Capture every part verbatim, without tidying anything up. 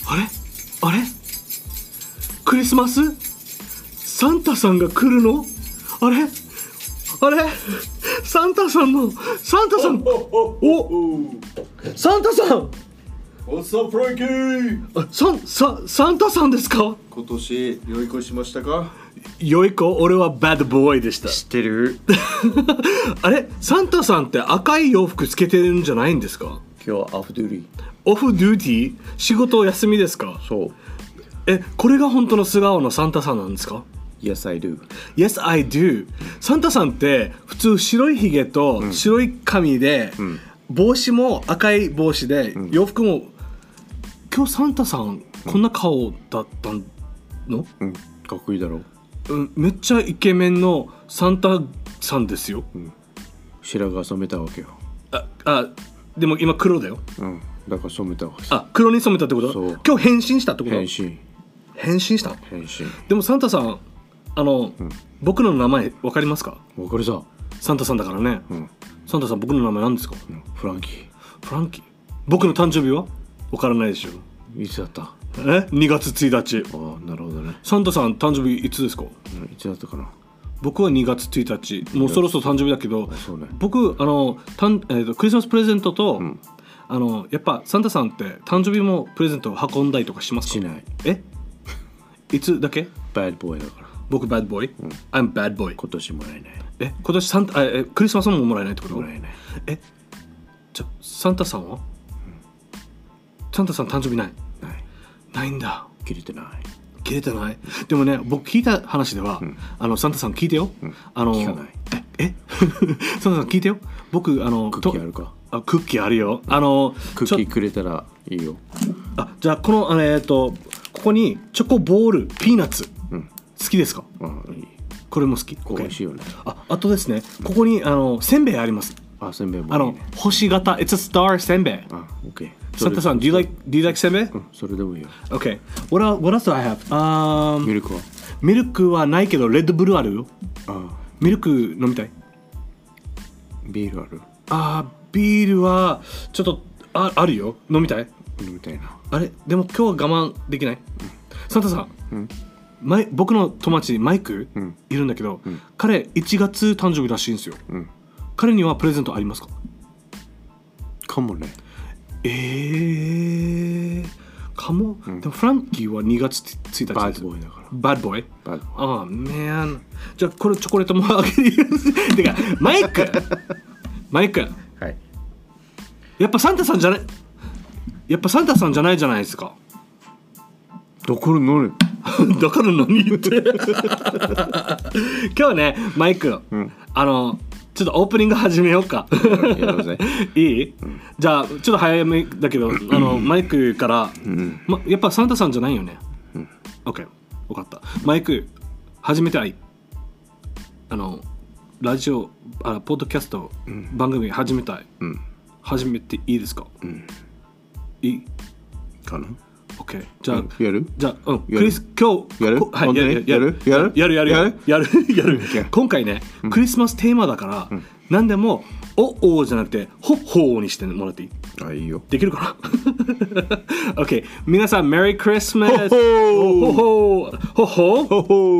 あれあれクリスマスサンタさんが来るの？あれあれサンタさんのサンタさんおサンタさん What's up, Frankie? あサンササンタさんですか？ 今年良い子しましたか？ 良い子、俺はバッドボーイでした。 知ってる？ あれサンタさんって赤い洋服つけてるんじゃないんですか？ 今日はオフデューティー。 オフデューティー？仕事休みですか？ そう。 え、これが本当の素顔のサンタさんなんですか？ Yes, I do. Yes, I do. サンタさんって普通白いひげと白い髪で、うん、帽子も赤い帽子で、うん、洋服も今日サンタさんこんな顔だったの？ うん、かっこいいだろう、うん、めっちゃイケメンのサンタさんですよ、 うん、白髪染めたわけよ。 ああ、でも今黒だよ。 うん、だから染めたわけ。 あ、黒に染めたってこと？ そう。 今日変身したってこと？ 変身変身した変身。 でもサンタさん、あの、うん、僕の名前分かりますか？ 分かるさ。 サンタさんだからね、うん、サンタさん僕の名前何ですか？ うん、フランキー。 フランキー。僕の誕生日は分からないでしょ。 いつだった？ えにがつついたち。 ああ、なるほどね。 サンタさん誕生日いつですか？うん、 いつだったかな。 僕はにがつついたち。もうそろそろ誕生日だけど、 そうね、 僕あのたん、えーと、クリスマスプレゼントと、うん、あのやっぱサンタさんって誕生日もプレゼントを運んだりとかしますか？ しない。 えいつだけ？ バッドボーイだから。 僕バッドボーイ、うん、I'm bad boy。 今年もらえない。 え今年サンタえクリスマスももらえないってこと？ もらえない。 えじゃサンタさんは、うん、サンタさん誕生日ない？ ないないんだ。 切れてない。 切れてない。でもね、僕聞いた話では、うん、あのサンタさん聞いてよ、うん、あの聞かない。 ええサンタさん聞いてよ。僕あのクッキーあるか？ あ、クッキーあるよ。あのクッキーくれたらいいよ。 あ、じゃあこのあのえっとここにチョコボールピーナッツ、うん、好きですか？ あ、いい。 これも好き。 美味しいよね。 あ、あとですね、ここにあのせんべいあります。 あ、せんべいもいいね。 あの星型 It's a star せんべい。 あ、OK。 サンタさん do you like do you like せんべい？うん、 それでもいいよ。 OK。What else, what else do I have? Um, ミルクは？ ミルクはないけどレッドブルあるよ。 あ、 ミルク飲みたい？ ビールある？ あ、ビールはちょっと あ, あるよ。飲みたい？ 飲みたいな。 あれでも今日は我慢できない？うん、サンタさん、うん、マイ僕の友達マイク、うん、いるんだけど、うん、彼いちがつ誕生日らしいんですよ、うん、彼にはプレゼントありますか？ かもね。 えー、かも、うん、でもフランキーはにがつついたちバッドボーイだから。 バッドボーイ？ バッドボーイ。 ああ、man。じゃあこれチョコレートもあげるてかマイクマイク、はい、やっぱサンタさんじゃないやっぱサンタさんじゃないじゃないですか。 だから何だから何言って今日ねマイク、うん、あのちょっとオープニング始めようかいい、うん、じゃあちょっと早めだけどあのマイクから、うんま、やっぱサンタさんじゃないよね、うん、OK 分かった。マイク始めたい。あのラジオあポッドキャスト、うん、番組始めたい、うん、始めていいですか？うん、いいかな。 OK。じゃあ、 やる？ じゃあ、うん、クリス今日やる？ はい、やるやるやるやるやるやるやるやる今回ね、うん、クリスマステーマだから、うん、何でもおおじゃなくてほっほーにしてもらっていい？ あ、いいよ。 できるかな？OK。皆さんメリークリスマス。 ほほほほほほほほ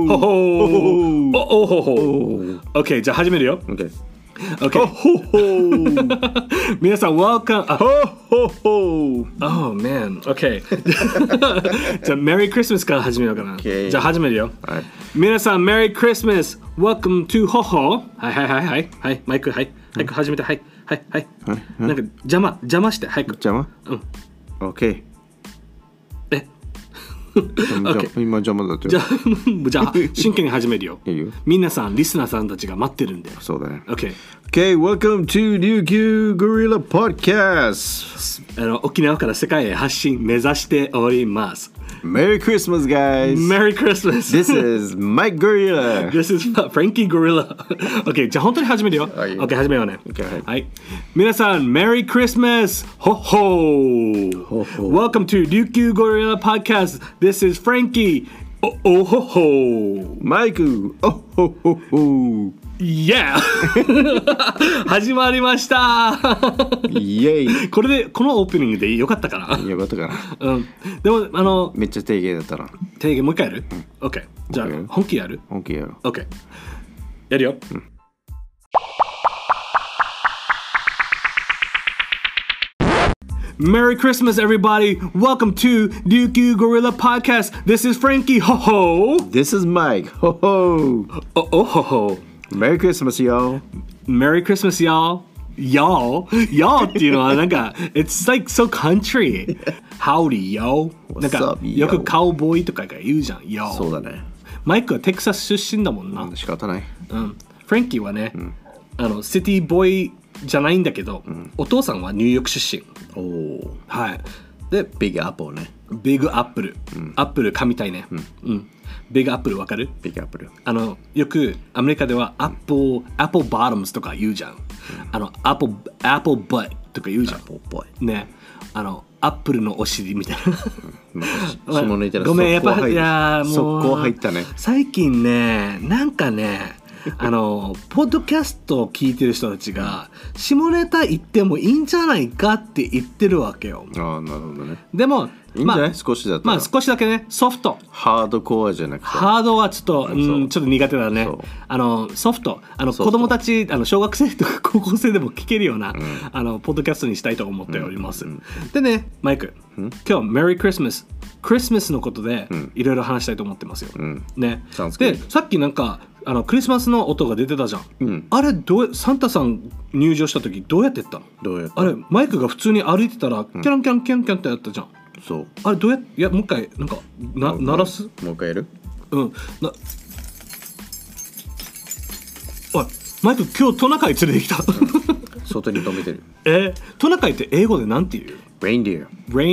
ほほほ。OK。じゃあ始めるよ。 OK。 Okay. Ho, ho, ho. 皆さん welcome. Ho, ho, ho. Oh man. Okay. じゃあ Merry Christmas から始めようかな。 Okay. じゃあ始めるよ。 はい。 皆さん Merry Christmas. Welcome to ほほ。はいはいはいはいはいマイクはい早く始めてはいはいはい。なんか邪魔邪魔して早く。 邪魔？うん。OK。 え。 Okay. 今邪魔だって。 じゃあじゃあ真剣に始めるよ。 いいよ。 皆さんリスナーさんたちが待ってるんだよ。 そうだね。 Okay. Okay, welcome to 琉球ゴリラ Podcast. あの沖縄から世界へ発信目指しております。 Merry Christmas, guys. Merry Christmas. This is Mike Gorilla. This is Frankie Gorilla. OK, じゃあ本当に始めるよ。OK, 始めようね。 Okay. はい。皆さん、Merry Christmas! ほっほー Welcome to 琉球ゴリラ Podcast. This is Frankie. おおほほマイクおほほほ Yeah 始まりましたイエイこれでこのオープニングでよかったかなよかったかなうんでもあのめっちゃ低芸だったな提言もう一回やる、うん、?OK じゃあ本気やる本気やる OK やるよ、うんMerry Christmas, everybody! Welcome to Ryukyu Gorilla Podcast. This is Frankie. Ho ho. This is Mike. Ho ho. Oh, oh ho ho. Merry Christmas, y'all. Merry Christmas, y'all. Y'all, y'all っていうのはなんか It's like so country. Howdy, yo. なんかよくカウボーイとかが言うじゃん。Yo. そうだね。 マイクはテキサス出身だもんな。 仕方ない。 うん。フランキーはね、うん、あのシティボーイじゃないんだけど、うん、お父さんはニューヨーク出身。おお。はい。で、 ビッグアップルね。 ビッグアップル。うん、アップル噛みたいね。うん。うん、ビッグアップルわかる？ ビッグアップル。 あのよくアメリカではアップル、アップルバトムズとか言うじゃん。うん、あのアップルアップルバッとか言うじゃん。アップルバッ。ね。あのアップルのお尻みたいな。 下ネタごめんやっぱいやもう速攻入ったね。 最近ねなんかね。あのポッドキャストを聞いてる人たちが下ネタ言ってもいいんじゃないかって言ってるわけよ。 ああなるほどね。 でもいいんじゃない、まあ、少しだったら。 まあ少しだけねソフト。 ハードコアじゃなくて。 ハードはちょっと、うん、ちょっと苦手だね。あのソフトあの子供たちあの小学生とか高校生でも聞けるような、うん、あのポッドキャストにしたいと思っております。うんうん、でねマイク、うん、今日メリークリスマスクリスマスのことでいろいろ話したいと思ってますよ。うん、ね。でさっきなんかあのクリスマスの音が出てたじゃん、うん、あれどうサンタさん入場した時どうやってやったの？ どうやったあれマイクが普通に歩いてたらキャンキャンキャンキャンってやったじゃん、 うん、そうあれどうやっていやもう一回なんかな鳴らすもう一回やるうんなおいマイク今日トナカイ連れてきた外に止めてるえトナカイって英語でなんて言う ？Reindeer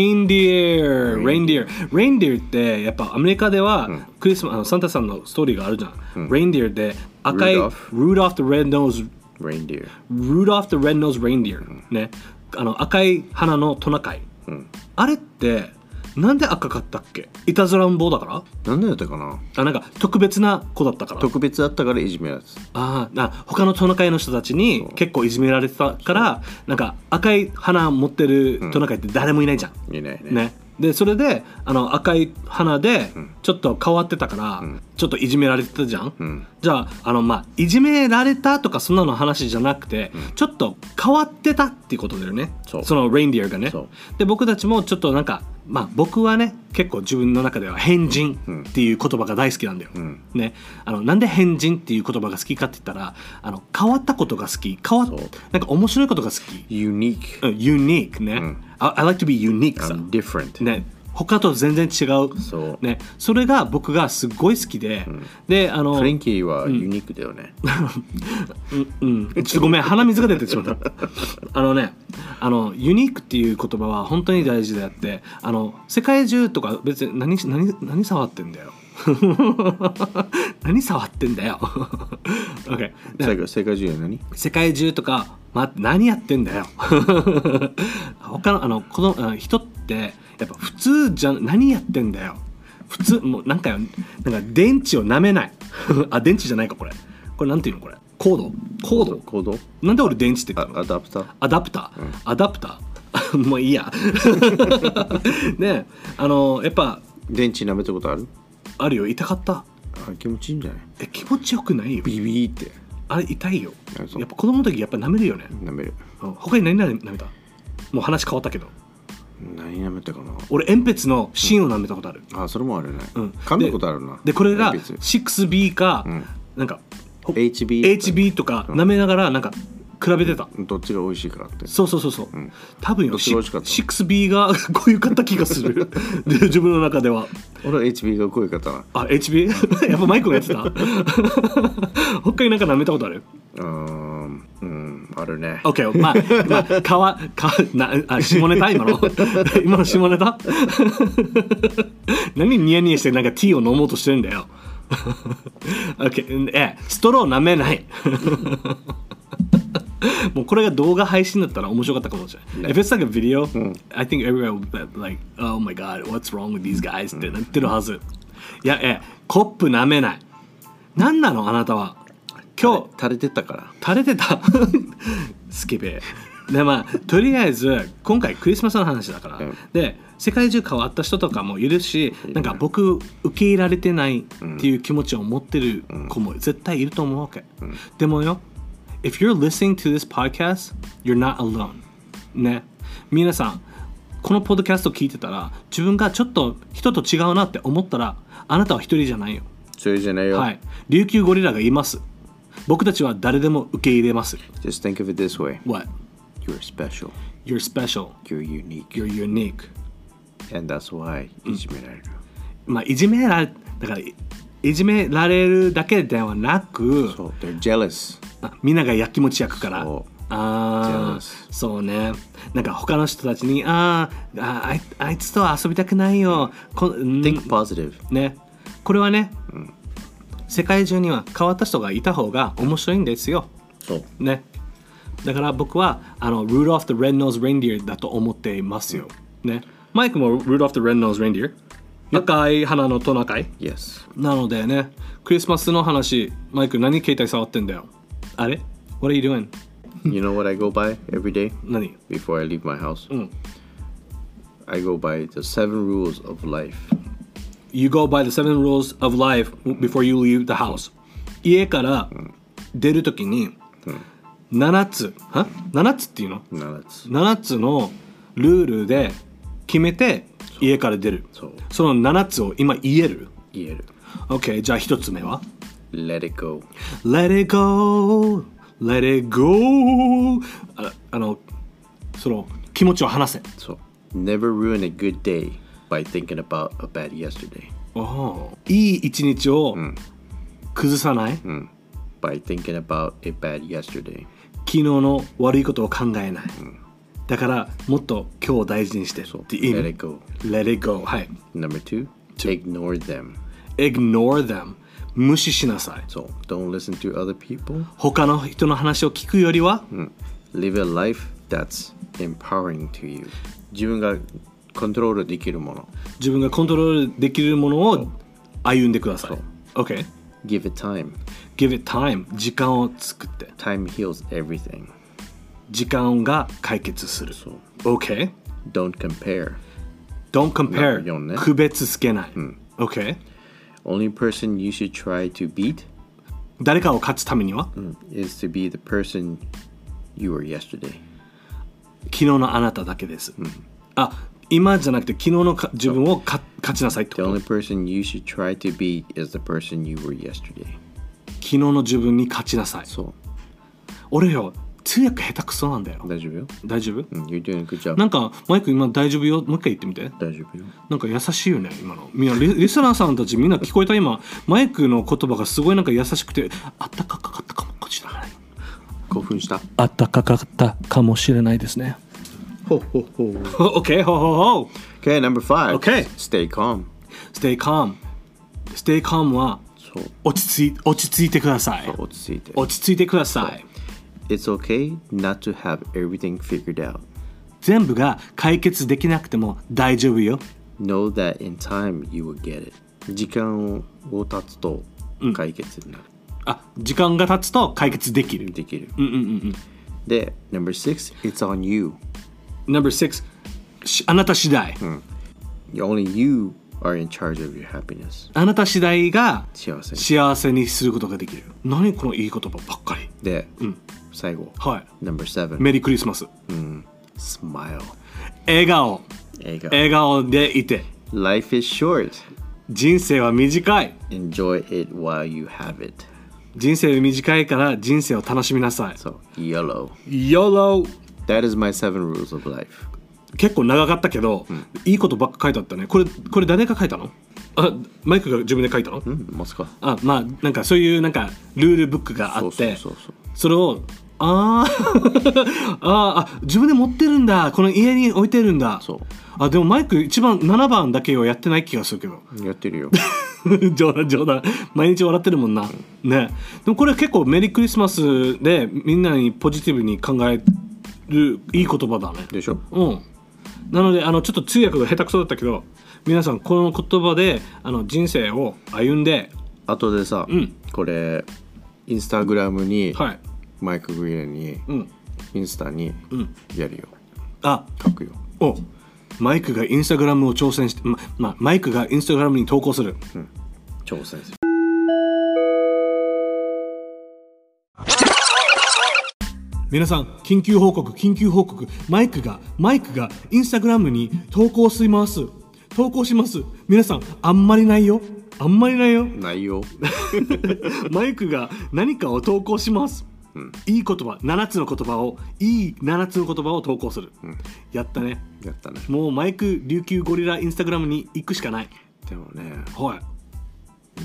Reindeer Reindeer Reindeer ってやっぱアメリカではクリスマス、うん、サンタさんのストーリーがあるじゃん、うん、Reindeer で赤い Rudolph the Red-Nosed Reindeer Rudolph the Red-Nosed Reindeer、うん、ねあの赤い花のトナカイ、うん、あれってなんで赤かったっけ？いたずらん坊だから？ なんでだったかなあなんか特別な子だったから特別だったからいじめられてたああ他のトナカイの人たちに結構いじめられてたからなんか赤い花持ってるトナカイって誰もいないじゃん、 うん、いないねねでそれであの赤い花でちょっと変わってたから、うん、ちょっといじめられてたじゃん、うん、じゃああのまあいじめられたとかそんなの話じゃなくて、うん、ちょっと変わってたっていうことだよね そ, そのレインディアがねで僕たちもちょっとなんかまあ僕はね結構自分の中では変人っていう言葉が大好きなんだよ、うん、ねあのなんで変人っていう言葉が好きかって言ったらあの変わったことが好き変わっなんか面白いことが好き Unique、 うん、Unique ね、うん、I, I like to be unique さ I'm different ね他と全然違うそう、 ね、それが僕がすごい好きで、うん、であのフレンキーはユニークだよね、 うんうんうん、ちょっとごめん鼻水が出てしまったあのねあのユニークっていう言葉は本当に大事であってあの世界中とか別に何何何触ってんだよ何触ってんだよokay 世界、世界中は何世界中とか、ま、何やってんだよ他のあのこの人ってやっぱ普通じゃ何やってんだよ普通もうなんかなんか電池を舐めないあ電池じゃないかこれこれなんていうのこれコードコードコードなんで俺電池って言ってんのアダプターアダプター、うん、アダプターもういいやねあのやっぱ電池舐めたことあるあるよ痛かったあ気持ちいいんじゃないえ気持ちよくないよビビーってあれ痛いよやっぱ子供の時やっぱ舐めるよね舐める他に何舐めたもう話変わったけど何舐めたかな俺鉛筆の芯を舐めたことある、 うん、あそれもあるね、うん、噛んだことあるなでこれが シックスビー か、うん、なんかエイチビーエイチビー とか舐めながらなんか比べてた、 うん、どっちが美味しいかってそうそうそうそう、うん、多分よ シックスビー がこういうかった気がするで自分の中では俺は エイチビー がこういうかったなあ エイチビー やっぱマイクがやってた他になんか舐めたことあるうんうんあるね OK まあまあかわかなあ下ネタ今の今の下ネタ何ニヤニヤしてなんかティーを飲もうとしてるんだよOK えストロー舐めないもうこれが動画配信だったら面白かったかもしれない。If it's like a video,、うん、I think everyone would be like, oh my god, what's wrong with these guys?、うん、ってなってるはず。 いやえコップ舐めない。何なのあなたは。今日垂れてたから垂れてたスケベでまあとりあえず今回クリスマスの話だから、うん、で世界中変わった人とかもいるし、うん、なんか僕受け入れられてないっていう気持ちを持ってる子も絶対いると思うわけ、うん、でもよ If you're listening to this podcast you're not alone ね。皆さんこのポッドキャスト聞いてたら自分がちょっと人と違うなって思ったらあなたは一人じゃないよ。 一人じゃないよ。 はい。琉球ゴリラがいます。僕たちは誰でも受け入れます。 Just think of it this way. What? You're special. You're special. You're unique. You're unique. And that's why いじめられる、 うん、まあいじめられだからいじめられるだけではなく、 そう、they're jealous。 みんながやきもち焼くから。 そうああ、そうね。なんか他の人たちにあああいあいつと遊びたくないよ。こ Think positive。 ね。これはね、 うん、 世界中には変わった人がいた方が面白いんですよ。 そうね。だから僕はあの Rudolph the Red-Nosed Reindeer だと思っていますよ。うん、ね。マイクも Rudolph the Red-Nosed Reindeer。赤い花のトナカイ。 Yes。 なのでね、クリスマスの話、マイク何携帯触ってんだよ。あれ ?What are you doing? You know what I go by every day? 何 Before I leave my house? うん。 I go by the seven rules of life.You go by the seven rules of life before you leave the house. 家から出るときにななつ、はななつっていうの ?なな つ。ななつのルールで決めて家から出る。 そう。 そのななつを今言える？ 言える。 OK、じゃあひとつ目は Let it go. Let it go. Let it go. あ, あの、その気持ちを話せ。 そう。Never ruin a good day.By thinking about a bad yesterday. おいい一日を崩さない、 うん、By thinking about a bad yesterday. 昨日の悪いことを考えない、うん、だからもっと今日を大事にしてって意味。 Let it go. Let it go. はい。 Number two, ignore them. Ignore them. 無視しなさい。 そう。Don't listen to other people. 他の人の話を聞くよりは、 うん、Live a life that's empowering to you. 自分がコントロールできるもの。 自分がコントロールできるものを歩んでください。OK。 Give it time. Give it time. 時間を作って。 Time heals everything. 時間が解決する。 そう。 OK。 Don't compare. Don't compare. よんね。 区別つけない。 うん、 OK。 Only person you should try to beat. 誰かを勝つためには、 うん、is to be the person you were yesterday. 昨日のあなただけです。 うん、 あ、今じゃなくて昨日のか自分をか勝ちなさいってこと。 The only person you should try to be is the person you were yesterday. 昨日の自分に勝ちなさい。 そう。 俺よ、通訳下手くそなんだよ。 大丈夫よ。 大丈夫？ うん、You're doing a good job. なんかマイク今大丈夫よ。もう一回言ってみて。 大丈夫よ。 なんか優しいよね今の。みんなリ, リスナーさんたちみんな聞こえた今。マイクの言葉がすごいなんか優しくてあったかかったかもしれない。 興奮した。 あったかかったかもしれないですね。 ほほほ。 OK ほほほ。 Okay, number five. Okay. Stay calm. Stay calm. Stay calm はそう落ち着い落ち着いてください。 そう落ち着いて。 落ち着いてください。 It's okay not to have everything figured out. 全部が解決できなくても大丈夫よ。 Know that in time you will get it. 時間を経つと解決になる。 うん、あ、時間が経つと解決できる。 できる。 うんうんうんうん。 で、number six, it's on you.Number six, あなた次第、 うん、Only you are in charge of your happiness. あなた次第が幸せに、 幸せにすることができる。何このいい言葉ばっかり。 で、 うん、 最後、 はい、 Number seven, メリークリスマス、 うん、Smile. 笑顔。 笑顔。 笑顔でいて。 Life is short. 人生は短い。 Enjoy it while you have it. 人生は短いから人生を楽しみなさい。 そう、YOLO. YOLO.That is my seven rules of life. 結構長かったけど、うん、いいことばっか書いてあったね。これこれ誰が書いたの？あ、マイクが自分で書いたの？ うん、ますか。 あ、まあなんかそういうなんかルールブックがあって、 そうそうそうそう、 それをあーあーあ自分で持ってるんだ。この家に置いてるんだ。 そう。 あでもマイク一番ななばんだけをやってない気がするけど。 やってるよ。 冗談冗談。毎日笑ってるもんな。うん、ね。でもこれ結構メリークリスマスでみんなにポジティブに考えるいい言葉だね。 でしょ。 うん。なのであのちょっと通訳が下手くそだったけど皆さんこの言葉であの人生を歩んで、 後でさ、 うん、 これインスタグラムに、 はい、 マイク・グリーンに、うん、インスタにやるよ、 うん、あ書くよ。 おマイクがインスタグラムを挑戦して、まま、マイクがインスタグラムに投稿する、 うん、挑戦する。 皆さん緊急報告緊急報告、マイクがマイクがインスタグラムに投稿します投稿します。皆さんあんまりないよあんまりないよないよマイクが何かを投稿します、うん、いい言葉ななつの言葉をいいななつの言葉を投稿する、うん、やったねやったね。 もうマイク琉球ゴリラインスタグラムに行くしかない。 でもね、 はい、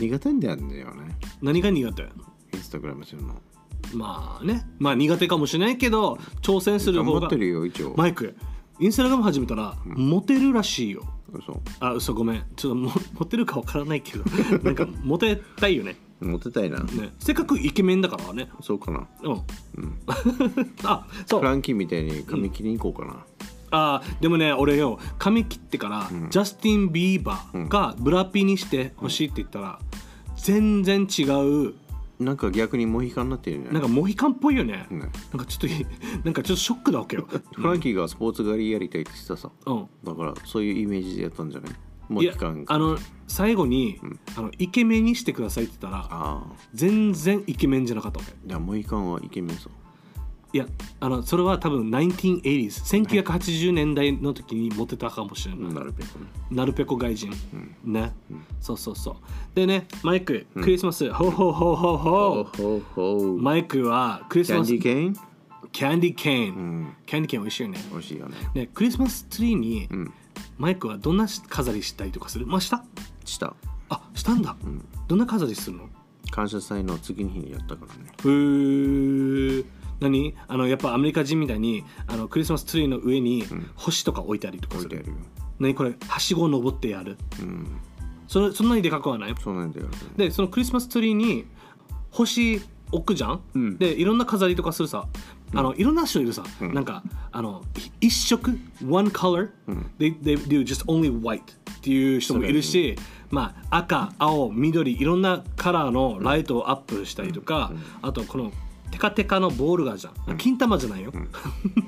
苦手なんだよね。 何が苦手？ インスタグラムするの。 まあね、まあ苦手かもしれないけど挑戦する方が。 持ってるよ一応。 マイクインスタグラム始めたら、うん、モテるらしいよ。 嘘。 あ、嘘ごめん。ちょっともモテるかわからないけどなんかモテたいよね。 モテたいな、 ね、せっかくイケメンだからね。 そうかな。 うん、うん、あ、 そうフランキーみたいに髪切りに行こうかな、うん、 あでもね俺よ髪切ってから、うん、ジャスティン・ビーバーがブラピにしてほしいって言ったら、うん、全然違う。 なんか逆にモヒカンになってるね。 なんかモヒカンっぽいよね、うん、なんかちょっとなんかちょっとショックだわけよフランキーがスポーツ狩りやりたいって言ってたさ、うん、だからそういうイメージでやったんじゃない？モヒカン。 あの最後に、うん、あのイケメンにしてくださいって言ったらあ全然イケメンじゃなかったわけ。 いやモヒカンはイケメンさ。 いやあのそれは多分せんきゅうひゃくはちじゅう、せんきゅうひゃくはちじゅうねんだいの時にモテたかもしれない。 なるべくね。 なるべく外人、うん、ね、うん、そうそうそう。でねマイク、 うん、 クリスマスほうほうほうほうほうほうほう。マイクはクリスマスキャンディーケーンキャンディーケーン、うん、キャンディーケーン美味しいよね。 美味しいよね。 ねクリスマスツリーに、うん、マイクはどんな飾りしたりとかする？まあしたしたあしたんだ、うん、どんな飾りするの？ 感謝祭の次の日にやったからね。 へー。何あのやっぱアメリカ人みたいにあのクリスマスツリーの上に星とか置いたりとかする、うん、置いてあるよ。何これはしごを登ってやる、うん、それそんなにでかくはない？ そんなにでかくない。 でそのクリスマスツリーに星置くじゃん、うん、でいろんな飾りとかするさ、うん、あのいろんな人いるさ、うん、なんかあの一色 one color、うん、they, they do just only white っていう人もいるし、まあ赤青緑いろんなカラーのライトをアップしたりとか、うんうん、あとこのテカテカのボールがあるじゃん、うん、金玉じゃないよ、うん、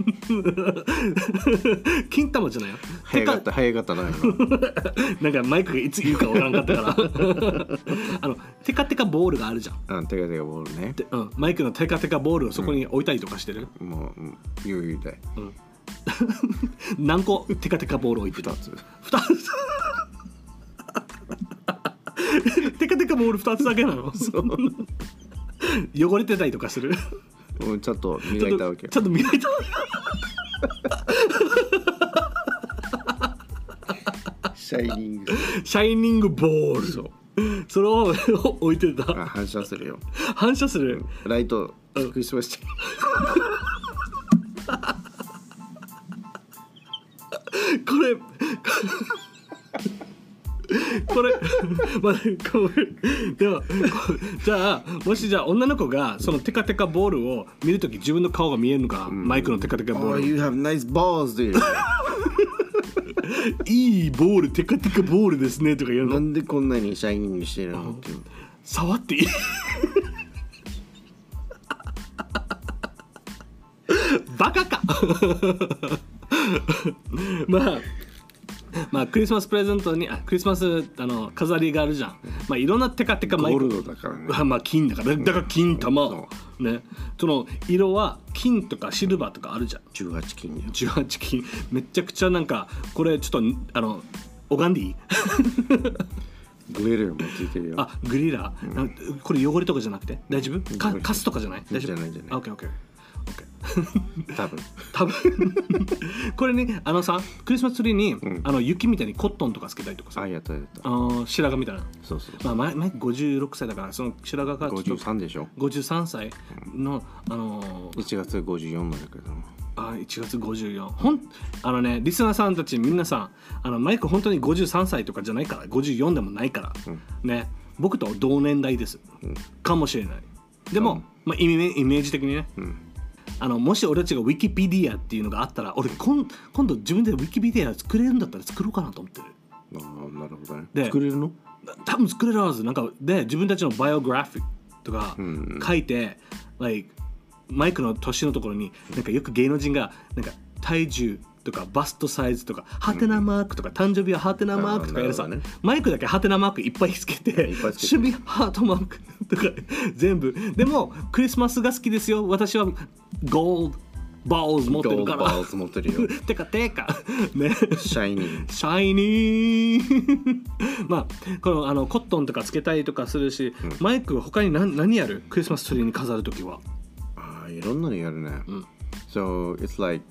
金玉じゃないよ。 早かった早かったななんかマイクがいつ言うかわからんかったからあのテカテカボールがあるじゃん。 うん、テカテカボールね、 うん、マイクのテカテカボールをそこに置いたりとかしてる、 うん、もう余裕で、うん、 何個テカテカボール置いてる？ ふたつふたつテカテカボールふたつだけなの？そう汚れてたりとかする？ うん、ちょっと磨いたわけよ。 ちょっと磨いたシャイニングシャイニングボール。そうそれを置いてた。 あ、反射するよ。 反射する、 うん、ライトクリスマスこれこれ、まあ、これでもじゃあもしじゃあ女の子がそのテカテカボールを見るとき自分の顔が見えるのか、うん、マイクのテカテカボール。 Oh, you have nice balls, dude いいボールテカテカボールですねとか言うの。 なんでこんなにシャイニングしてるのって。 触っていいバカかまあまあクリスマスプレゼントにあクリスマスあの飾りがあるじゃん。まあいろんなテカテカマイク。 ゴールドだからね。 まあ金だからだから金玉、うん、ね。その色は金とかシルバーとかあるじゃん。 じゅうはち金よ。 じゅうはち金めちゃくちゃなんかこれちょっとあの拝んでいい？ グリラーもついてるよ。 あグリラー、うん、これ汚れとかじゃなくて大丈夫？かカスとかじゃない？大丈夫？ じゃないじゃない。 オッケーオッケー。 多分多分これねあのさクリスマスツリーに、うん、あの雪みたいにコットンとかつけたりとかさ。 あやったやった。 あ白髪みたいな。 そうそうそう。まあ前ごじゅうろくさいだからその白髪がちょっとごじゅうさんでしょ。 ごじゅうさんさいの、うん、あのー、 いちがつごじゅうよんまでだけど。 あいちがつごじゅうよんほんあのねリスナーさんたち皆さんあのマイク本当にごじゅうさんさいとかじゃないからごじゅうよんでもないから、うん、ね僕と同年代です、うん、かもしれない。でも、うんまあ、イメイメージ的にね、うんあのもし俺たちがウィキペディアっていうのがあったら俺今今度自分でウィキペディア作れるんだったら作ろうかなと思ってる。 ああ、なるほどね。 で作れるの？ 多分作れるはず。なんかで自分たちのバイオグラフィックとか書いて、like、マイクの年のところになんかよく芸能人がなんか体重とかバストサイズとかハテナマークとか、誕生日はハテナマークとかやるさ、 ね、 マイクだけハテナマークいっぱいつけて、趣味ハートマークとか全部。でもクリスマスが好きですよ、私はゴールドバール持ってるから。 バール持ってるよ。 てかてかね。 シャイニー。 シャイニー。まあこのあのコットンとかつけたりとかするし、うん、マイクは他に何何やる？クリスマスツリーに飾るときは。 ああ、いろんなのやるね。うん、so it's like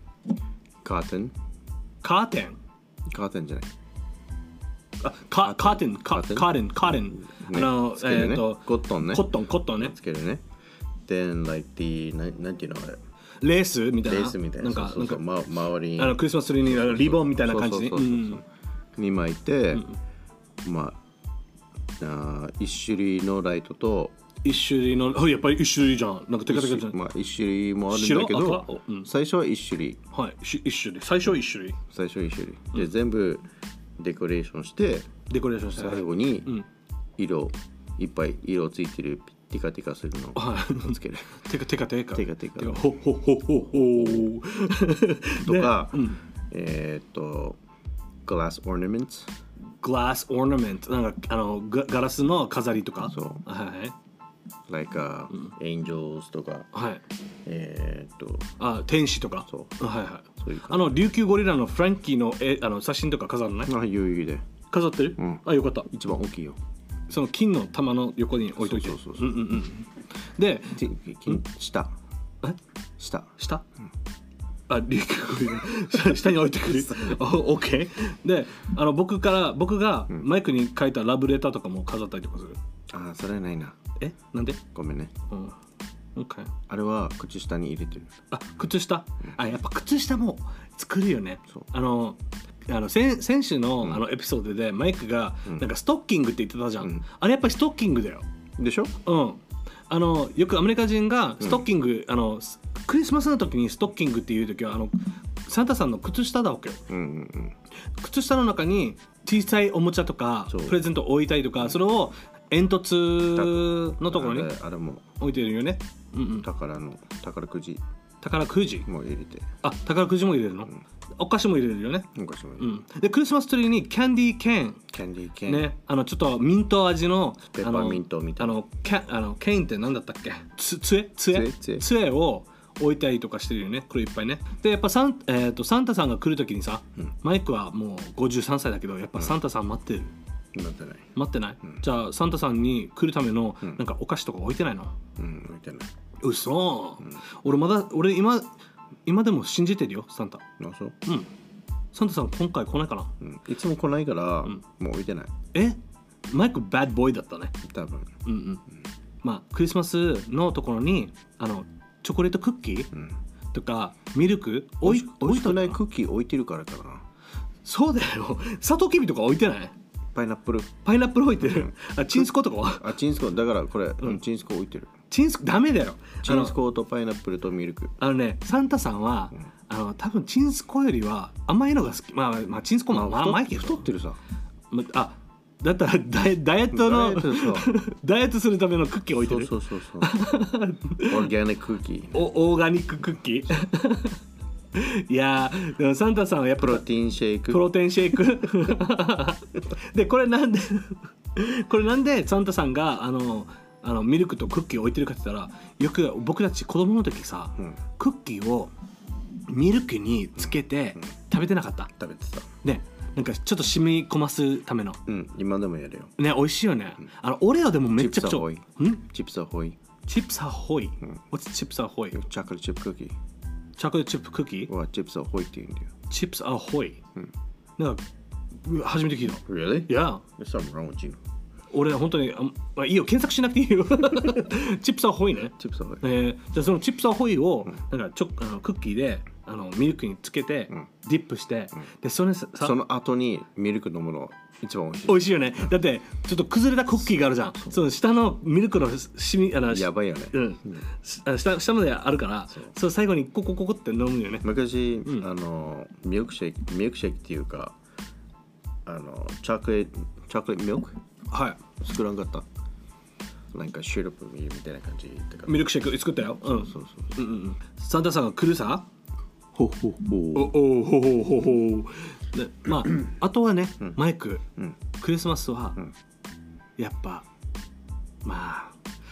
curtain。 カーテン？ カーテンじゃない。 あ、カカーテン、カーテン、カーテン、カーテン。あの、 ね、えっ、ー、とコットンね。コットン、コットンね。 つけるね。Then like the ななんていうのあれ。 レースみたいな。 レースみたいな。なんか、そうそう、なんか、ま、周りにあのクリスマスツリーにリボンみたいな感じに巻いて、うん、まあ、あ一種類のライトと一種類の、やっぱり一種類じゃん。なんかテカテカじゃん。 まあ一種類もあるんだけど、うん、最初は一種類。 はい、一種類。最初は一種類。 最初は一種類。で、うん、全部デコレーションして、 デコレーションして最後に色、いっぱい色ついてる。テカテカするのをつける。 テカテカテカテカテカ。 ほほほほほとか、ね、うん、えっと、グラスオーナメント。 グラスオーナメント。なんかあのガガラスの飾りとか。 そう。 はい。 like、uh, うん、angels とか。 はい。 えっと。 あ、天使とか。 そう。 はいはい。そういうあの琉球ゴリラのフランキーのえあの写真とか飾るのね。 あ、余裕で。 飾ってる？うん、あ、よかった。 一番大きいよ。 その金の玉の横に置いといて。 そうそうそう。うんうんうん。 で、 金下。 え？ 下。 下？うん、あ、リュ下に置いてくる。オッケー。で、あの僕から僕がマイクに書いたラブレターとかも飾ったりとかする。 うん、あ、それはないな。 え？なんで？ ごめんね。 うん。オッケー。 あれは靴下に入れてる。 あ、靴下？うん、あ、やっぱ靴下も作るよね。そう。あの。あの先, 先週 の,、うん、あのエピソードでマイクがなんかストッキングって言ってたじゃん、うん、あれやっぱりストッキングだよでしょ。 うんあのよくアメリカ人がストッキング、うん、あのクリスマスの時にストッキングっていう時はあのサンタさんの靴下だわけよ、うんうんうん、靴下の中に小さいおもちゃとかプレゼント置いたりとか、うん、それを煙突のところに置いてるよね、 うんうん、宝の宝くじ宝くじも入れてあ宝くじも入れるの、うん、お菓子も入れるよねお菓子も入れる、 うん、でクリスマスツリーにキャンディーケーンキャンディーケーンねあのちょっとミント味のペッパーミントみたいなあのキャあのケーンって何だったっけつ杖杖杖を置いたりとかしてるよねこれいっぱいねでやっぱサン、えー、とサンタさんが来る時にさ、うん、マイクはもうごじゅうさんさいだけどやっぱサンタさん待ってる、 うん、待ってない待ってない、うん、じゃあサンタさんに来るためのなんかお菓子とか置いてないのうん置いてない嘘、うん、俺まだ俺今今でも信じてるよサンタ。あそううんサンタさん今回来ないかな、 うん、いつも来ないから、うん、もう置いてないえマイクバッドボーイだったね多分うんうん、うん、まあクリスマスのところにあのチョコレートクッキー、うん、とかミルクおいおいしくないクッキー置いてるからかなそうだよサトウキビとか置いてないパイナップルパイナップル置いてる、うん、あチンスコとかはあチンスコだからこれ、うん、チンスコ置いてるチンスコダメだよチンスコとパイナップルとミルクあのねサンタさんは、うん、あの多分チンスコよりは甘いのが好きまあ、まあ、チンスコも甘いけど太ってるさあだったらダイダイエットのダイエットするためのクッキー置いてるそうそうそうそうオーガニッククッキーおオーガニッククッキーいやでもサンタさんはやっぱプロテインシェイクプロテインシェイクでこれなんでこれなんでサンタさんがあのあのミルクとクッキーを置いてるかって言ったらよく僕たち子供の時さ、うん、クッキーをミルクにつけて食べてなかった、 食べてたねなんかちょっと染み込ますためのうん今でもやるよね美味しいよね、うん、あのオレオでもめっちゃくちゃチップスアホイチップスアホイ、うん、What's チップスアホイチョコレートチップクッキーチョコレートチップクッキーはチップスアホイって言うんだよチップスアホイ、うん、なんか初めて聞いた Really? Yeah There's something wrong with you 俺本当にあ、まあ、いいよ検索しなくていいよチップスアホイねチップスアホイ、 えー、じゃあそのチップスアホイを、うん、なんかちょあのクッキーであのミルクにつけて、うん、ディップして、うん、でそれさその後にミルク飲むの一番美味しい美味しいよねだってちょっと崩れたクッキーがあるじゃんその下のミルクのしみあのやばいよね、 うん、うん、下, 下まであるからその最後にココココって飲むよね昔、うん、あのミルクシェイクミルクシェイクっていうかあのチョコレートチョコレートミルクはい作らんかったなんかシロップみたいな感じってかミルクシェイク作ったよ。うん。 そうそううんうんうん。サンタさんが来るさ。 ほほほおおほほほほ。で、まああとはね、マイク、 うん、 クリスマスは、 うん、 やっぱまあ、は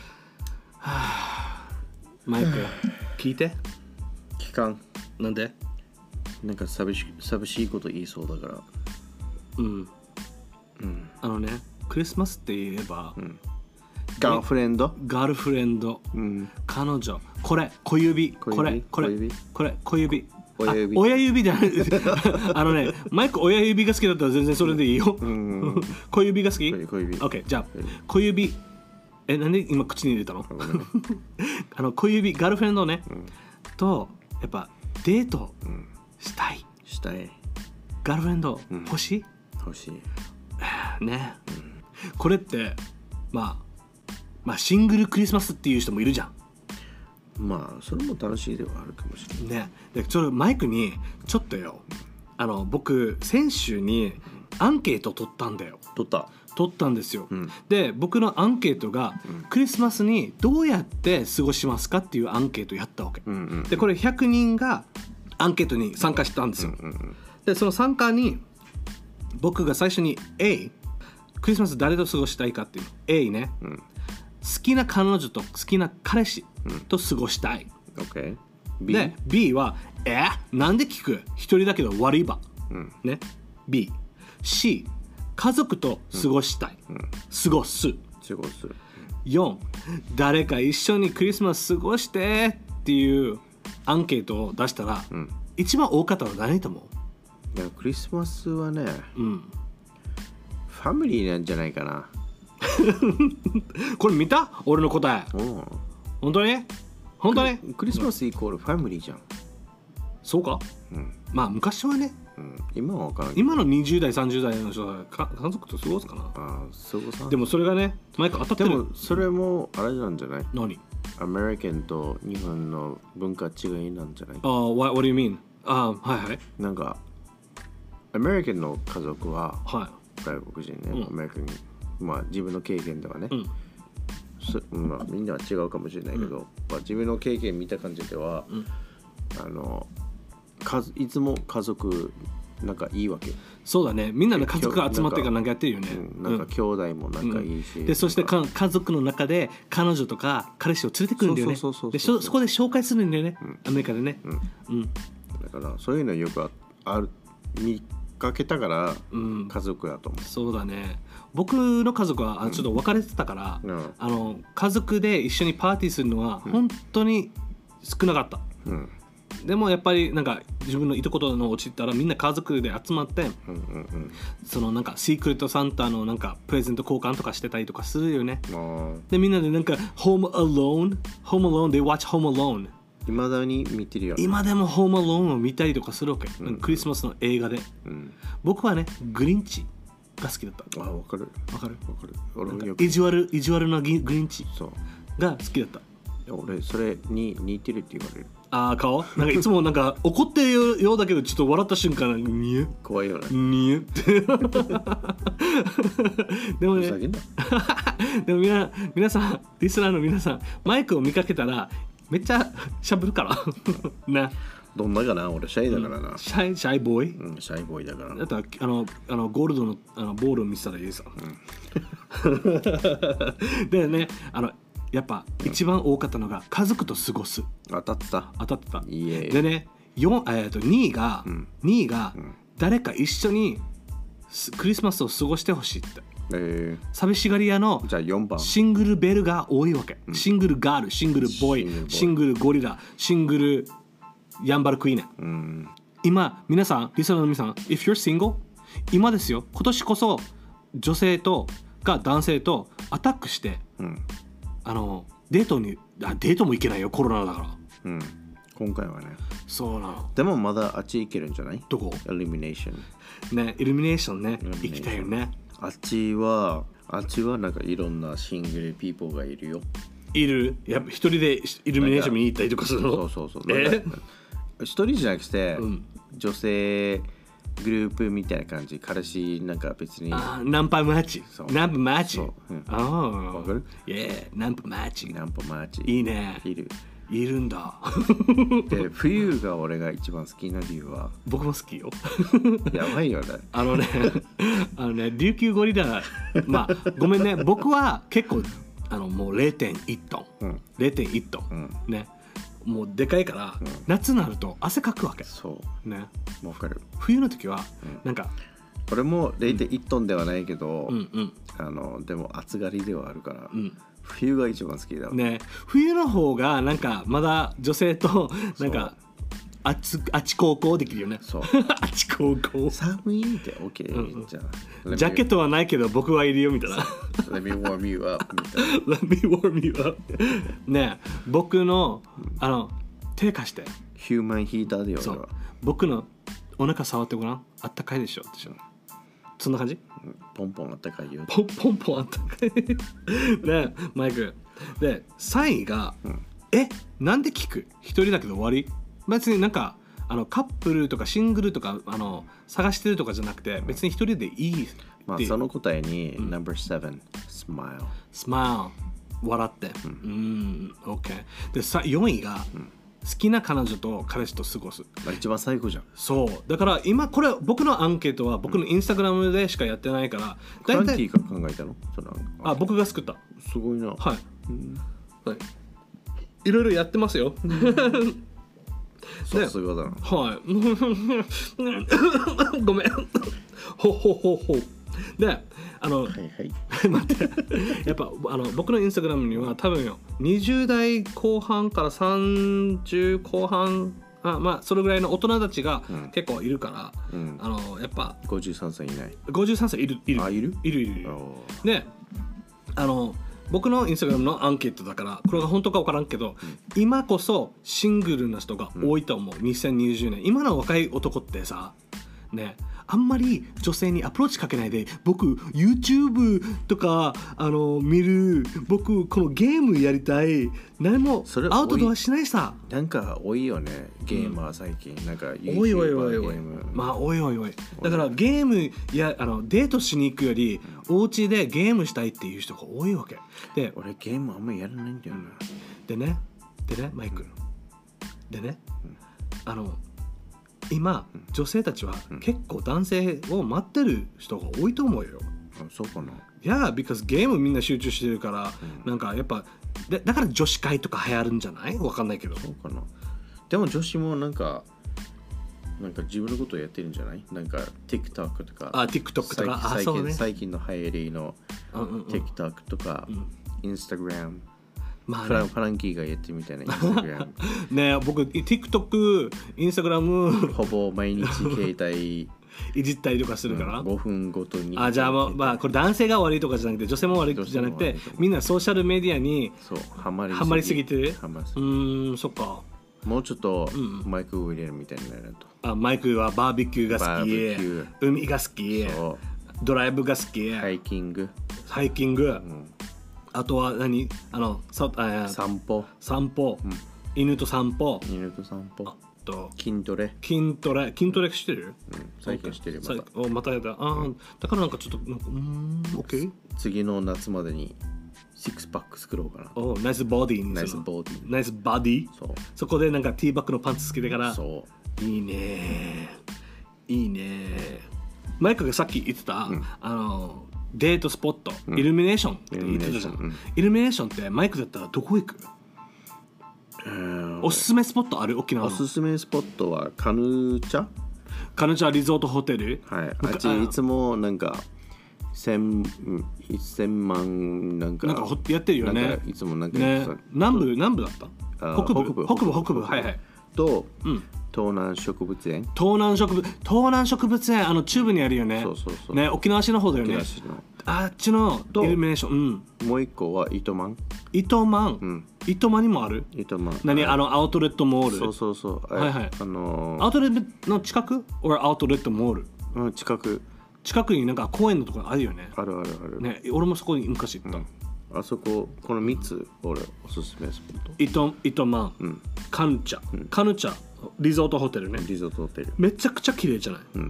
あ、マイク聞いて。 期間なんで？ なんか寂し寂しいこと言いそうだから。 うん。 うん。 あのね、クリスマスって言えば。 うんガーフレンドガールフレンド、うん、彼女これ小指これこれこれ小指親指親指じゃないあのねマイク親指が好きだったら全然それでいいよ小指が好き小指 OK じゃあ小指えなんで今口に入れたのあの小指ガールフレンドね、うん、とやっぱデートしたい、 うん、したいガールフレンド欲しい、 うん、欲しいね、うん、これってまあまあシングルクリスマスっていう人もいるじゃん。 まあそれも楽しいではあるかもしれないね。でちょっとマイクにちょっとよあの僕先週にアンケート取ったんだよ。 取った取ったんですよ、 うん、 で僕のアンケートが、うん、クリスマスにどうやって過ごしますかっていうアンケートやったわけ、うんうんうん、でこれひゃくにんがアンケートに参加したんですよ、うんうんうん、でその参加に僕が最初に A クリスマス誰と過ごしたいかっていう A ね、うん好きな彼女と好きな彼氏と過ごしたい、 うん okay. で B はえなんで聞く一人だけど悪いば、うんね、B C 家族と過ごしたい、うん、過ごす過ごすよん誰か一緒にクリスマス過ごしてっていうアンケートを出したら、うん、一番多かったのは何と思う？いやクリスマスはね、うん、ファミリーなんじゃないかなこれ見た？俺の答え。本当に？本当に？ クリスマスイコールファミリーじゃん。 そうか？うん、まあ昔はね。 うん、今は分からない。 今のにじゅう代さんじゅう代の人は家族と過ごすかな。 ああ、そうか。 でもそれがね、毎回当たってる。 でもそれもあれなんじゃない？ 何？ アメリカンと日本の文化違いなんじゃない？ ああ、what, what do you mean? ああ、はいはい。 なんかアメリカンの家族は、 はい、 外国人ね、うん、アメリカンまあ自分の経験ではね、うんまあ、みんなは違うかもしれないけど、うんまあ、自分の経験見た感じでは、うん、あのいつも家族仲いいわけ。 そうだね、みんなの家族が集まってからなんかやってるよね。 うん、なんか兄弟も仲いいし、うん、 でそしてか家族の中で彼女とか彼氏を連れてくるんだよね。でそこで紹介するんだよね、うん、アメリカでね、うんうん、 だからそういうのよくある見かけたから家族だと思う、うん、 そうだね。僕の家族はちょっと別れてたから、うん、あの家族で一緒にパーティーするのは本当に少なかった、うん、でもやっぱりなんか自分のいとことの落ちたらみんな家族で集まって、うんうんうん、そのなんかシークレットサンタのなんかプレゼント交換とかしてたりとかするよね。でみんなでなんか Home Alone Home Alone They watch Home Alone 今だに見てるよ。 今でもホームアローンを見たりとかするわけ、うん、クリスマスの映画で、うん、僕はねグリンチが好きだった。 あ、わかるわかるわかる。俺意地悪意地悪なグリンチが好きだった。 俺それに似てるって言われる。 ああ顔なんかいつもなんか怒ってるようだけどちょっと笑った瞬間にゅ怖いよねにゅってでもねでもみな皆さんリスナーの皆さんマイクを見かけたらめっちゃしゃべるからね。 どんなかな、俺シャイだからな、 うん、シャイシャイボーイ、 うん、シャイボーイだからだったらあのあのゴールドのあのボールを見せたらいいさ、うん、でねあのやっぱ一番多かったのが家族と過ごす。 当たってた当たってたいえでねよん、えー、とにいが、うん、にいが、うん、誰か一緒にクリスマスを過ごしてほしいって、えー、寂しがり屋のじゃあよんばんシングルベルが多いわけ、うん、シングルガールシングルボーイシングルゴリラシングルヤンバルクイーネ、うん、今皆さんリスナーの皆さん If you're single 今ですよ今年こそ女性とか男性とアタックして、うん、あのデートにあデートも行けないよコロナだから、 うん、今回はねそうなの。 でもまだあっち行けるんじゃない？ どこ？ イルミネーションねイルミネーションね行きたいよね。 あっちはあっちはなんかいろんなシングルピーポーがいるよ。 いる？やっぱ一人でイルミネーション見に行ったりとかするの？ そうそうそう。え？一人じゃなくて、うん、女性グループみたいな感じ。彼氏なんか別に。 あナンパマッチ。ナンパマッチ。 そう。うん、 ああ。 わかる？ いや、ナンパマッチ。 ナンパマッチ。 いいね。 いる。 いるんだ。 で、冬が俺が一番好きな理由は。 僕も好きよ。 やばいよね。 あのね、あのね、琉球ゴリラ、まあ、ごめんね、僕は結構、あのもう れいてんいち トン、うん、れいてんいち トン、うん、ね。もうでかいから、うん、夏になると汗かくわけ。 そうね。 わかる。 冬の時は、うん、なんか俺も れいてんいち トンではないけど、 うんうん、 あのでも暑がりではあるから、 うん、 冬が一番好きだね。冬の方がなんかまだ女性となんかあちあち高校できるよね。 そう。 あち高校。 寒いって OK、うんうん、じゃあ。 ジャケットはないけど僕はいるよみたいな。 Let me warm you up みたいな。Let me warm you up ねえ、僕のあの手貸して。 ヒューマンヒーターでよ。 そう。僕のお腹触ってごらん。あったかいでしょ。そんな感じ？ ポンポンあったかいよ。 ポンポンポンあったかい。ねえ、マイク。で、さんいが、うん、え、なんで聞く？一人だけど終わり？別になんかあのカップルとかシングルとかあの探してるとかじゃなくて別に一人でいい。 まあその答えに ナンバーセブン smile smile 笑ってうん、うん、OK でさよんいが、うん、好きな彼女と彼氏と過ごす。 一番最後じゃん。 そうだから今これ僕のアンケートは僕のインスタグラムでしかやってないから、 フランキーが考えたの？そのあ僕が作った。 すごいな。 はい、うん、はいいろいろやってますよ。 さすがだな。 はい。ごめん。ほほほほ。で、あの、はいはい、待って、やっぱあの僕のインスタグラムには多分よ、にじゅう代後半からさんじゅう後半、あまあそれぐらいの大人たちが結構いるから、うん、あのやっぱごじゅうさんさいいない。 ごじゅうさんさいいるいる。 あいる？ いるいるいる。で、あの。僕のインスタグラムのアンケートだからこれが本当か分からんけど、うん、今こそシングルな人が多いと思う、うん、にせんにじゅうねん。今の若い男ってさねあんまり女性にアプローチかけないで僕 YouTube とかあの見る僕このゲームやりたい何もアウトドアしないさ。 なんか多いよねゲーマー最近、うん、なんか YouTuber おいおいおいおいまあおいおいおいだからゲームやあのデートしに行くより、うん、お家でゲームしたいっていう人が多いわけで俺ゲームあんまりやらないんだよな、 でねでねマイク、うん、でね、うん、あの今、うん、女性たちは結構男性を待ってる人が多いと思うよ。 あそうかな。 いや、because ゲームみんな集中してるから、うん、なんかやっぱでだから女子会とか流行るんじゃない？わかんないけど。 そうかな。でも女子もなんかなんか自分のことをやってるんじゃない？なんか TikTok とか。 あ、TikTok とか。 最近、 あ、そうね、 最近の流行りの TikTok とか、うん、Instagram。まあね、フラン、フランキーがやってみたいなインスタグラムねえ僕 TikTok、インスタグラムほぼ毎日携帯いじったりとかするから、 うん、ごふんごとにあじゃあ、まあ、まあこれ男性が悪いとかじゃなくて女性も悪いじゃなくてみんなソーシャルメディアにそうハマりすぎ、 ハマりすぎてハマりすぎうーんそっかもうちょっとマイクを入れるみたいになると、 うん、あマイクはバーベキューが好き海が好きドライブが好きハイキングハイキング、うんあとは何あのさあ散歩散歩、うん、犬と散歩犬と散歩あと筋トレ筋トレ筋トレしてる、 うん、最近してるまたおまたやだあ、うん、だからなんかちょっとなんかうーん OK 次の夏までにシックスパック作ろうかなおナイスボディナイスボディナイスバディそうそこでなんかティーバッグのパンツつけてからそういいねいいねマイクがさっき言ってた、うん、あのデートスポット、うん、イルミネーションって言ってたじゃん、うん、イルミネーションってマイクだったらどこ行く？おすすめスポットある？沖縄のおすすめスポットはカヌチャカヌチャリゾートホテルはいあっちいつもなんか千千万なんかなんかやってるよねいつもなんか、 ね、南部南部だった北部北部北部北部はいはいと、うん、東南植物園東南植物東南植物園あの中部にあるよねそうそうそうね沖縄市の方だよねあっちのイルミネーション、 うん、もう一個は糸満糸満、うん、糸満にもある糸満何あのアウトレットモールそうそうそうはいはいあのー、 アウトレットの近く or アウトレットモールうん近く近くになんか公園のところあるよねあるあるあるね俺もそこに昔行った、うんあそここのみっつ俺おすすめスポット糸糸満、うん、カヌチャ、うん、カヌチャリゾートホテルねリゾートホテルめちゃくちゃ綺麗じゃない、うん、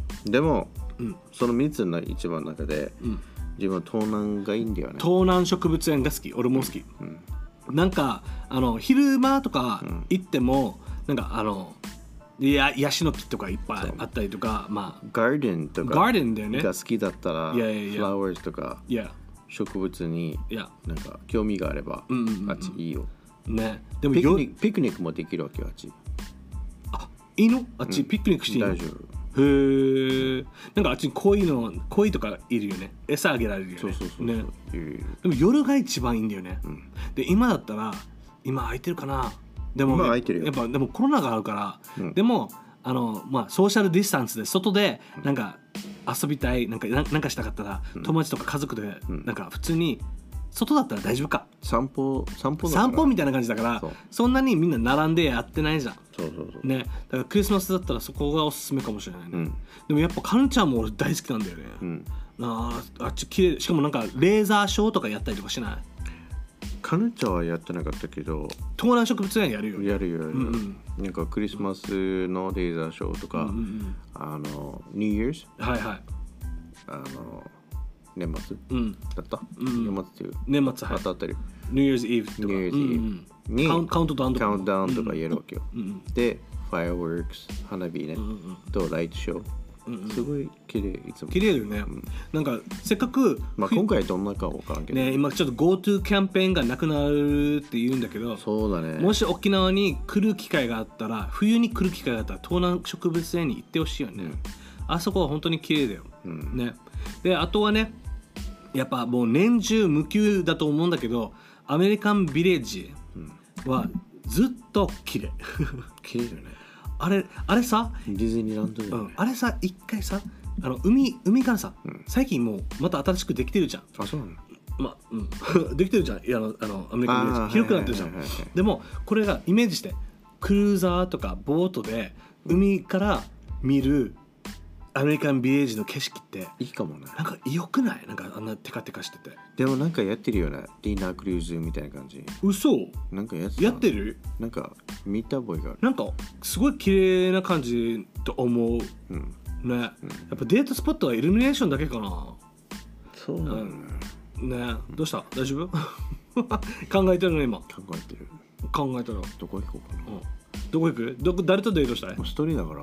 でも、 うん、 そのみっつの一番の中で、うん、自分は東南がいいんだよね。 東南植物園が好き。俺も好き、うんうん、なんかあの昼間とか行っても、うん、なんかあのいやヤシの木とかいっぱいあったりとか、まあガーデンとかガーデンだよねが好きだったら、 いやいやいやフラワーズとか、 いや植物になんか興味があれば、 うんうんうんうん、 あっちいいよ。 ね、でもピクニック、ピクニックもできるわけよ、あっち。 あ、いいの？あっち、うん、ピクニックしていいの？ 大丈夫。 へえ。なんかあっちに鯉の鯉とかいるよね。餌あげられるよね。 そうそうそうそう、 ね。でも夜が一番いいんだよね。うん、で今だったら今空いてるかな。でも今空いてるよ。 やっぱでもコロナがあるから、うん、でもあのまあソーシャルディスタンスで外でなんか遊びたいなんかなんかしたかったら、うん、友達とか家族でなんか普通に外だったら大丈夫か。 散歩散歩散歩みたいな感じだから そ, そんなにみんな並んでやってないじゃん。 そうそうそう、 ね、だからクリスマスだったらそこがおすすめかもしれないね、うん、でもやっぱカルチャーも俺大好きなんだよね、うん、あ, あっち綺麗。しかもなんかレーザーショーとかやったりとかしない？ カルチャーはやってなかったけど東南植物園やるよ。 やるよやるよ、うんうん、なんかクリスマスのレーザーショーとか、うんうんうん、あの New Year's はいはいあの年末、うん、だった、うん、年末っていう年末はい当たったり New Year's Eve とか New Year's Eve にカウントダウンとかカウントダウンとかやるわけよ、うんうん、で Fireworks 花火ね、うんうん、とライトショー、うんうん、すごい綺麗いつも綺麗だよね、うん、なんかせっかく、 まあ、今回どんなか分からんけどね、今ちょっと GoTo キャンペーンがなくなるって言うんだけど、 そうだね、 もし沖縄に来る機会があったら冬に来る機会があったら東南植物園に行ってほしいよね、うん、あそこは本当に綺麗だよ、うん、ね。であとはねやっぱもう年中無休だと思うんだけどアメリカンビレッジはずっと綺麗綺麗だよね。 あれあれさディズニーランドだよね、 うん、あれさ一回さあの 海, 海からさ、うん、最近もうまた新しくできてるじゃん。 あ、そうなの。 まあ、うん、できてるじゃん。いやあのあのアメリカンビレッジ広くなってるじゃん、はいはいはいはい、でもこれがイメージしてクルーザーとかボートで海から見るアメリカンビレッジの景色っていいかもね。 なんか良くない？なんかあんなテカテカしてて。 でもなんかやってるよね。ディナークルーズみたいな感じ。 嘘？ なんかやってやってる？ なんか見た覚えがある。 なんかすごい綺麗な感じと思う、うん、ね、うん、やっぱデートスポットはイルミネーションだけかな。 そうなのね、 うん、ね、どうした？大丈夫？考えてるの今。 考えてる。 考えたらどこ行こうかな、うん、 どこ行く？どこ誰とデートしたい？ 一人だから、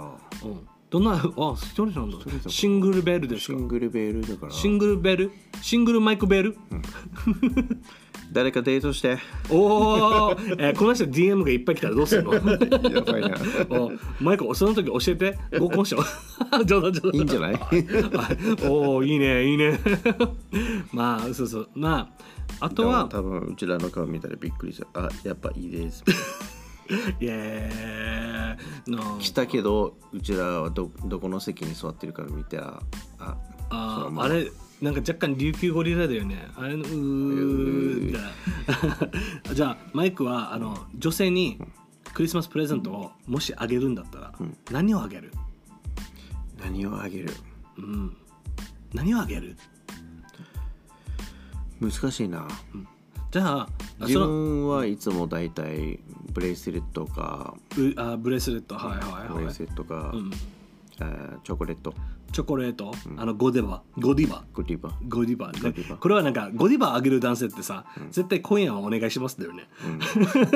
うん、どんな、あ、一人なんだ。シングルベルですか？ シングルベルだから。 シングルベル？シングルマイクベル？うん、 誰かデートして。 おお、えー、この人 ディーエム がいっぱい来たらどうするの？やばいな。 おマイク、その時教えて。合コンしよう。冗談冗談。 いいんじゃない？ おお、いいね、いいね。まあ、そうそう。まあ、あとは。 多分うちらの顔見たらびっくりした。あ、やっぱいいです。 イエーイ、no、 来たけどうちらは ど, どこの席に座ってるから見たらあああれなんか若干琉球ゴリラだよねあれのうーじゃあマイクはあの女性にクリスマスプレゼントをもしあげるんだったら、うん、何をあげる？ 何をあげる、 うん、何をあげる？ 難しいな、うん、 じゃあ自分はいつもだいたいブレスレットかあブレスレットはいはいはいブレスレットか、うん、あチョコレートチョコレート、うん、あのゴディバゴディバゴディバゴディバ、ね、ゴディバこれはなんかゴディバあげる男性ってさ、うん、絶対今夜はお願いしますだよね、うん、デ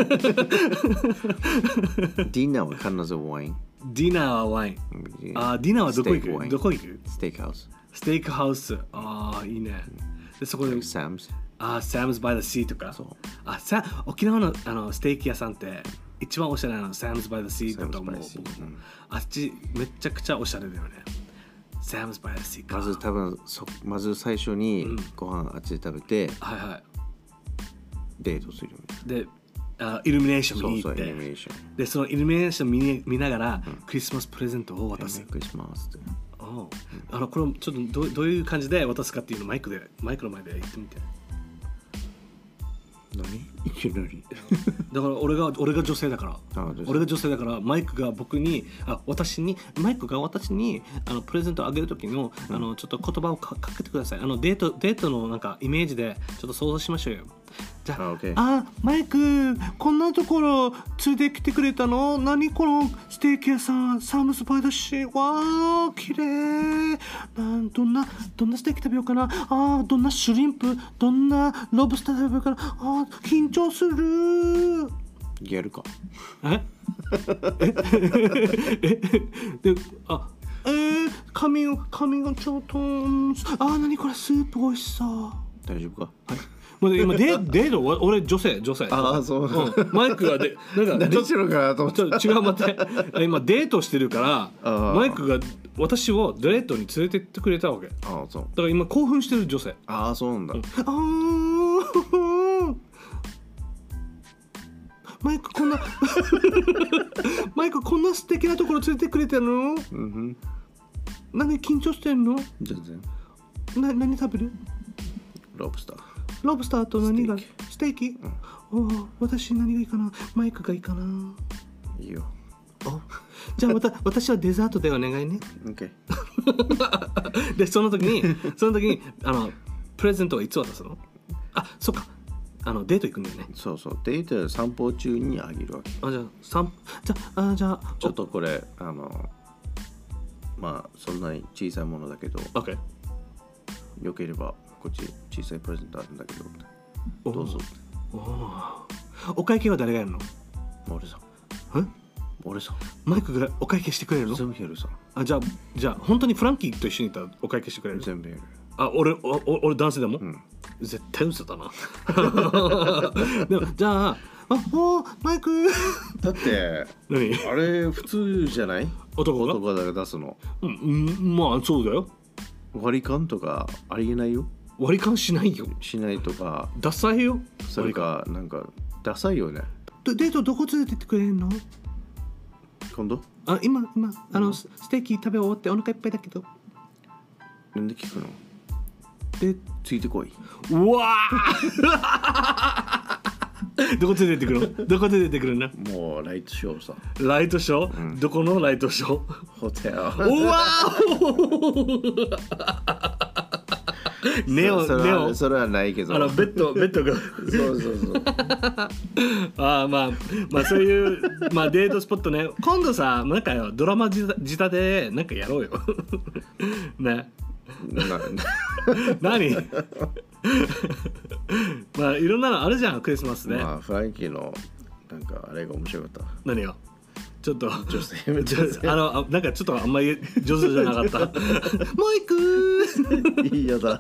ィナーは必ずワインディナーはワイン、うん、あディナーはどこ行く？どこ行く？ ステーキハウスステーキハウスああいいね、うん、でそこでサムズあ、サムズ・バイ・ザ・シーとかあさ沖縄 の, あのステーキ屋さんって一番おしゃれなのサムズ・バイ・ザ・シーだと思う、うん、あっちめちゃくちゃおしゃれだよねサムズ・バイ・ザ・シーかまず多分そまず最初にご飯あっちで食べて、うん、 はいはいデートするであイルミネーション見に行ってそうそうイルミネーションでそのイルミネーション 見, 見ながら、うん、クリスマスプレゼントを渡すクリスマスっておあのこれちょっと ど, どういう感じで渡すかっていうのをマイクでマイクの前で言ってみて何いきなりだから俺が俺が女性だから俺が女性だからマイクが僕にあ私にマイクが私にあのプレゼントをあげる時の、うん、あのちょっと言葉をかかけてくださいあのデートデートのなんかイメージでちょっと想像しましょうよじゃあ、 あ、OK。 あ、マイク、こんなところ連れてきてくれたの？何このステーキ屋さん、サムスパイだし、わー、綺麗。なんどんな、どんなステーキ食べようかな。あー、どんなシュリンプ、どんなロブスター食べようかな。あー、緊張する。 やるか。 ええで、あ、えー、髪を、髪がちょっと、あー、何これ、スープ美味しそう。 大丈夫か。 はい。もう今デデート俺女性女性ああそう、 うん、マイクがでなんかどっちのかなと思って違う待って今デートしてるからマイクが私をデートに連れてってくれたわけ。 ああそうだから今興奮してる女性。 ああそうなんだ、うん、 ああマイクこんなマイクこんな素敵なところ連れてくれてるの、うん、何緊張してんの？ 全然。 な何食べる？ ロブスター。 ロブスターと何がステーキ、 ステーキ、うん、お私何がいいかな。マイクがいいかな。 いいよ。 おじゃあまた私はデザートでお願いね。 OK でその時にその時にあのプレゼントはいつ渡すの？あ、そっか、あのデート行くんだよね。 そうそう、デート散歩中にあげるわけ。 あ、じゃあ散じゃあじゃあちょっとこれあのまあそんなに小さいものだけど、 OK、 よければこっち小さいプレゼントあるんだけどどうぞ。 おお会計は誰がやるの？ 俺さん俺さマイクがお会計してくれるの？ 全部やるさ。 あ、じゃあじゃあ本当にフランキーと一緒にいたらお会計してくれる？ 全部やる。 あ、俺お俺男性でも、うん、絶対嘘だなでもじゃあ、あ、おマイクだって何あれ普通じゃない？ 男が男が出すの。 うん、まあそうだよ。 割り勘とかありえないよ。 割り勘しないよ。 しないとかダサいよ。 それかなんかダサいよね。 デートどこ連れてってくれるの？ 今度？ あ、今今あの、うん、ステーキ食べ終わってお腹いっぱいだけど。 なんで聞くの？ でついてこい。 うわどこ連れてってくるの？どこ連れてってくるの？ もうライトショーさ。 ライトショー、うん、どこのライトショー？ ホテル。 うわネオそネオそれはないけど、 あのベッドベッドがそうそうそうああ、まあまあそういうまあデートスポットね。今度さなんかよドラマ仕立てなんかやろうよね。な何まあいろんなのあるじゃんクリスマスね。 まあフランキーのなんかあれが面白かった。 何よちょっと女性めっちゃあのなんかちょっとあんまり上手じゃなかったマイクーいいやだ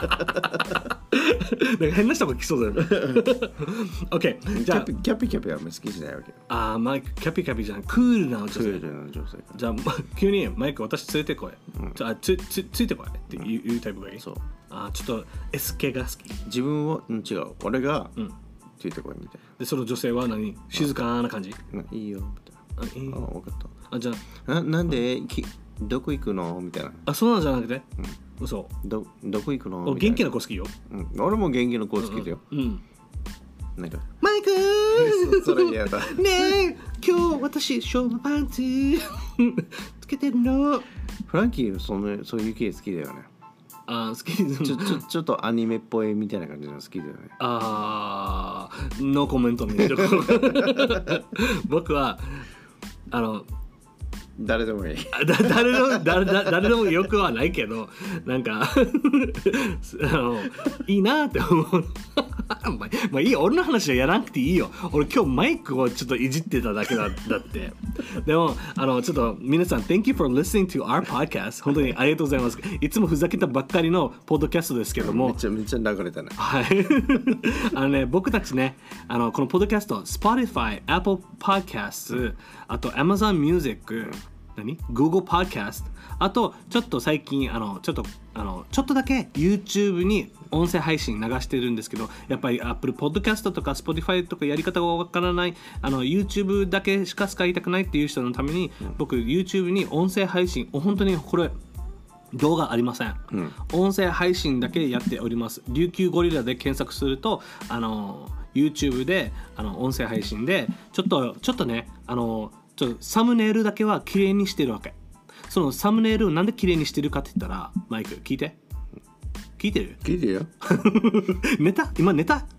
なんか変な人が来そうだよOK じゃあキャピキャピキャピはあんまり好きじゃないわけよ。 ああマイクキャピキャピじゃんクールな女性。 クールな女性。 じゃあ急にマイク私連れてこい、うん、じゃあつつついてこいって言う、うん、タイプがいい。そう。あちょっと エス 系が好き。 自分は、うん、違う俺が、うん、ついてこいみたいな。 でその女性は何静かな感じ？ いいよみたいな。あ、いいよ。あ、分かった。 あ、じゃあななんできどこ行くのみたいな。 あ、そうなんじゃなくて、うん、 嘘。どどこ行くの？ 元気な子好きよ、 うん、俺も元気な子好きだよ。うん、うん、なんかマイクそ, それ嫌だねえ今日私ショートパンツつけてるの。 フランキーそのそういう系好きだよね。 あ、好き。 ちょちょちょっとアニメっぽいみたいな感じの好きだよね。 ああ、ノーコメントに僕はあの誰でもいいだ誰でも誰誰でもよくはないけどなんかあのいいなって思うまあ、まあいいよ俺の話はやらなくていいよ。俺今日マイクをちょっといじってただけだだってでもあのちょっと皆さん Thank you for listening to our podcast 本当にありがとうございます。いつもふざけたばっかりのポッドキャストですけどもめちゃめちゃ流れたね。 はいあのね僕たちねあのこのポッドキャスト Spotify、Apple Podcasts あと Amazon Music、何 Google Podcast あとちょっと最近あのちょっとあのちょっとだけ YouTube に音声配信流してるんですけどやっぱり Apple Podcast とか Spotify とかやり方がわからないあの YouTube だけしか使いたくないっていう人のために、うん、僕 YouTube に音声配信本当にこれ動画ありません、うん、音声配信だけやっております。琉球ゴリラで検索するとあの YouTube であの音声配信でちょっとちょっとねあのちょっとサムネイルだけは綺麗にしてるわけ。そのサムネイルをなんで綺麗にしてるかって言ったらマイク聞いて聞いてる聞いてるよ寝た今寝た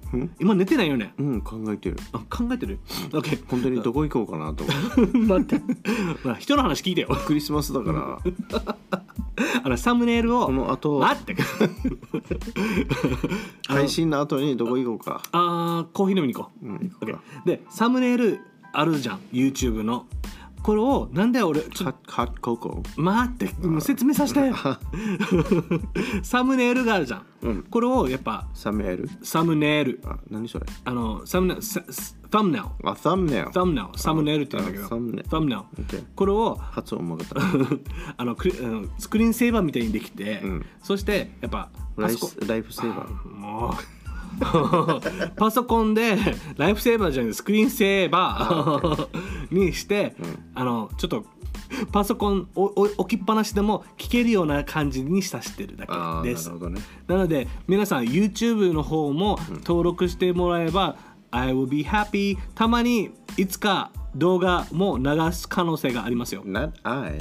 今寝てないよね。 うん考えてる。 あ考えてる ?OK。 本当にどこ行こうかなと思って待って。まあ人の話聞いてよ。 クリスマスだからあのサムネイルをこの後待って配信の後にどこ行こうか。 あーコーヒー飲みに行こう、 うん、行こうか。 でサムネイルあるじゃん YouTube の。これをなんで俺ちょっとハッココ待ってもう説明させてサムネイルがあるじゃん、うん、これをやっぱサムネイルサムネイルあ何それあのサムネイルササムネイルあサムネイルサムネイルサムネイルって言うんだけどサムネイルサムネイルこれを発音うまかったあのクリスクリーンセーバーみたいにできて、うん、そしてやっぱライフライフセーバーもうパソコンでライフセーバーじゃなくてスクリーンセーバーにして、うん、あのちょっとパソコンを置きっぱなしでも聞けるような感じにさせてるだけです。 なるほどね。 なので皆さん YouTube の方も登録してもらえば、うん、I will be happy たまにいつか動画も流す可能性がありますよ。 Not I,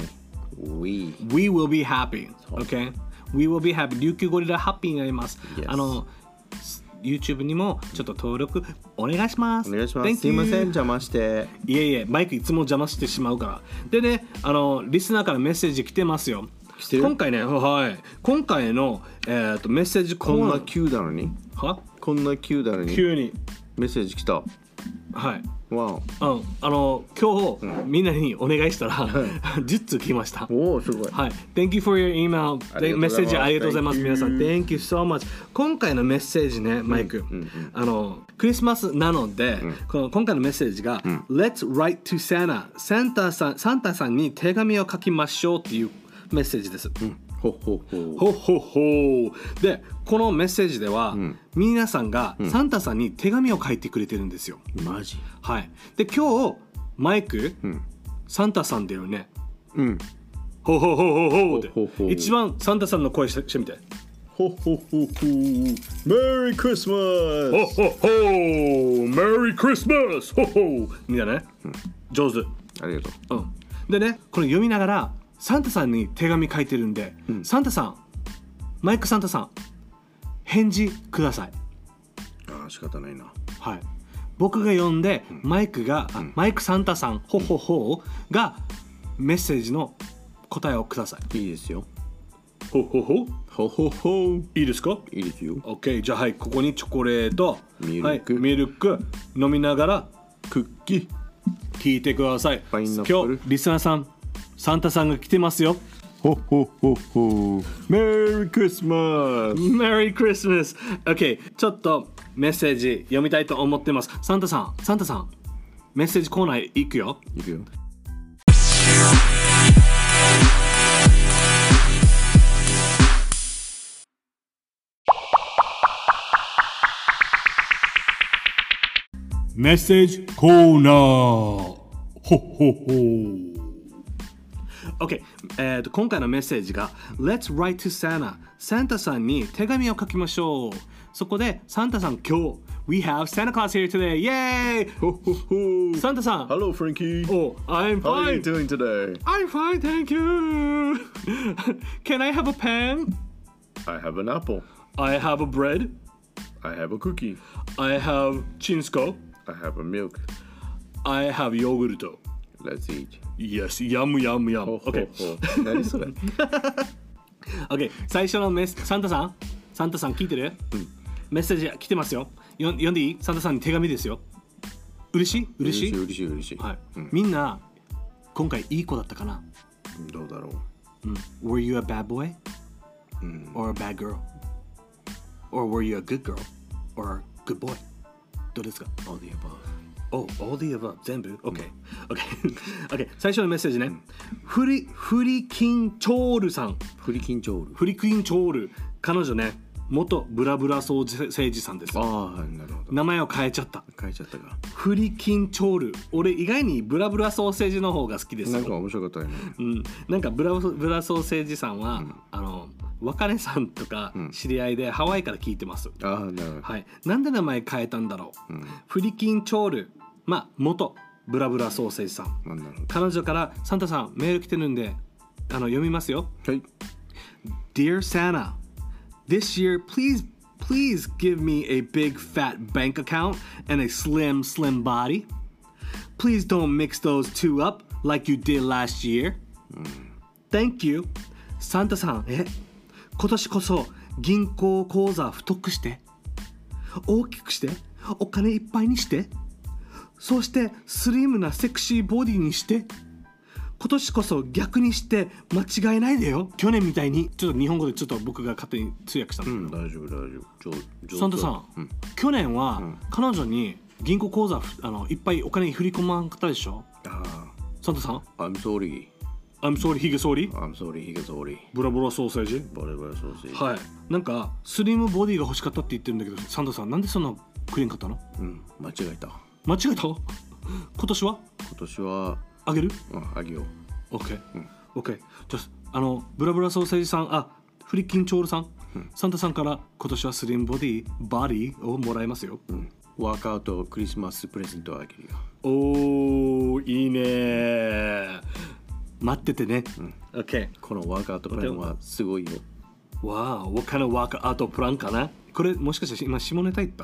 we. We will be happy. Okay? We will be happy. 琉球ゴリラハッピーになります。 Yes. あのYouTube にもちょっと登録お願いします。 お願いします。すいません邪魔して。 いえいえマイクいつも邪魔してしまうから。でねあのリスナーからメッセージ来てますよ。 来てる？ 今回ねはい今回の、えー、とメッセージコーナーこんな急なのにはこんな急なのに急にメッセージ来た。 はい。 わお。 うん、あの今日、うん、みんなにお願いしたらじゅっつう来ました。 おおすごい。 はい。Thank you for your email。メッセージありがとうございます。皆さん Thank you so much。今回のメッセージねマイク、うんうんうん、あのクリスマスなので、うん、この今回のメッセージが、うん、Let's write to Santa。サンタさんサンタさんに手紙を書きましょうっていうメッセージです。うんほほほほほほでこのメッセージでは、うん、皆さんがサンタさんに手紙を書いてくれてるんですよ。 マジ？ はい。で今日マイク、うん、サンタさんだよね。 うん。 ほほほほほでほほ一番サンタさんの声してみて。 ほほほほメリークリスマス。 ほほほメリークリスマス。ほほみたいなね、うん。上手。 ありがとう。 うん。でねこれ読みながら。サンタさんに手紙書いてるんで、うん、サンタさんマイクサンタさん返事ください。 ああ仕方ないな。 はい。僕が読んで、うん、マイクが、うん、マイクサンタさんほほほがメッセージの答えをください。 いいですよ。 ほほほほほほいいですか？ いいですよ。 OK じゃあはいここにチョコレートミルク、はい、 ミルク飲みながらクッキー聞いてください。 パイナップル今日リスナーさんサンタさんが来てますよ。 ほほほほメリークリスマスメリークリスマス OK ちょっとメッセージ読みたいと思ってます。サンタさんサンタさんメッセージコーナー行くよ。 行くよ。 メッセージコーナーほほほOK、えー、と今回のメッセージが Let's write to Santa サンタさんに手紙を書きましょう。そこでサンタさん今日 We have Santa Claus here today Yay! ほほほサンタさん Hello Frankie Oh, I'm fine How are you doing today? I'm fine, thank you Can I have a pen? I have an apple I have a bread I have a cookie I have chinsko I have a milk I have yogurt Let's eat Yes, yum yum yum OK 何それ OK 最初のメスサンタさんサンタさん聞いてる、うん、メッセージ来てますよ。よ読んでいい？サンタさんに手紙ですよ。嬉しい嬉しい嬉しい嬉しい、 はいうん、みんな今回いい子だったかな？ どうだろう、うん、Were you a bad boy? うん、 or a bad girl? Or were you a good girl? Or a good boy? どうですか？ All the above Oh, all the above 全部 ?OK、うん、OK OK 最初のメッセージね、うん、フリフリキンチョールさんフリキンチョールフリキンチョール彼女ね元ブラブラソーセージさんです。 ああなるほど。 名前を変えちゃった変えちゃったか。 フリキンチョール俺意外にブラブラソーセージの方が好きですよ。 なんか面白かったよね。 うんなんかブラブラソーセージさんは、うん、あの若根さんとか知り合いでハワイから聞いてます。 うん、ああなるほど。 はいなんで名前変えたんだろう、うん、フリキンチョールまあ元ブラブラソーセージさん、 うん、 彼女からサンタさんメール来てるんであの読みますよ。 はい。 Dear Santa, this year please Please give me a big fat bank account and a slim, slim body. Please don't mix those two up like you did last year. Thank you. サンタさん、え、今年こそ銀行口座太くして、大きくして、お金いっぱいにして、そしてスリムなセクシーボディにして、今年こそ逆にして間違えないでよ。去年みたいに。ちょっと日本語でちょっと僕が勝手に通訳したんだけど、 うん、大丈夫大丈夫。 サンタさん、うん、去年は彼女に銀行口座あのいっぱいお金振り込まんかったでしょ。 あサンタさん I'm sorry I'm sorry ヒゲソーリ I'm sorry ヒゲソーリブラブラソーセージブラブラソーセージ。 はい。なんかスリムボディが欲しかったって言ってるんだけど、サンタさんなんでそんなくれんかったの？ うん間違えた。 間違えた？今年は今年はあげる？ うんあげよう。 OK、うん、OK。じゃあ、あのブラブラソーセージさん、あ、フリッキンチョールさん、うん、サンタさんから今年はスリムボディバディをもらえますよ。うん、 ワークアウトクリスマスプレゼントあげるよ。 おー、いいね。待っててね。うん、OK。 このワークアウトプランはすごいよ。 わー、what kind of ワークアウトプランかな？これもしかして今下ネタ言った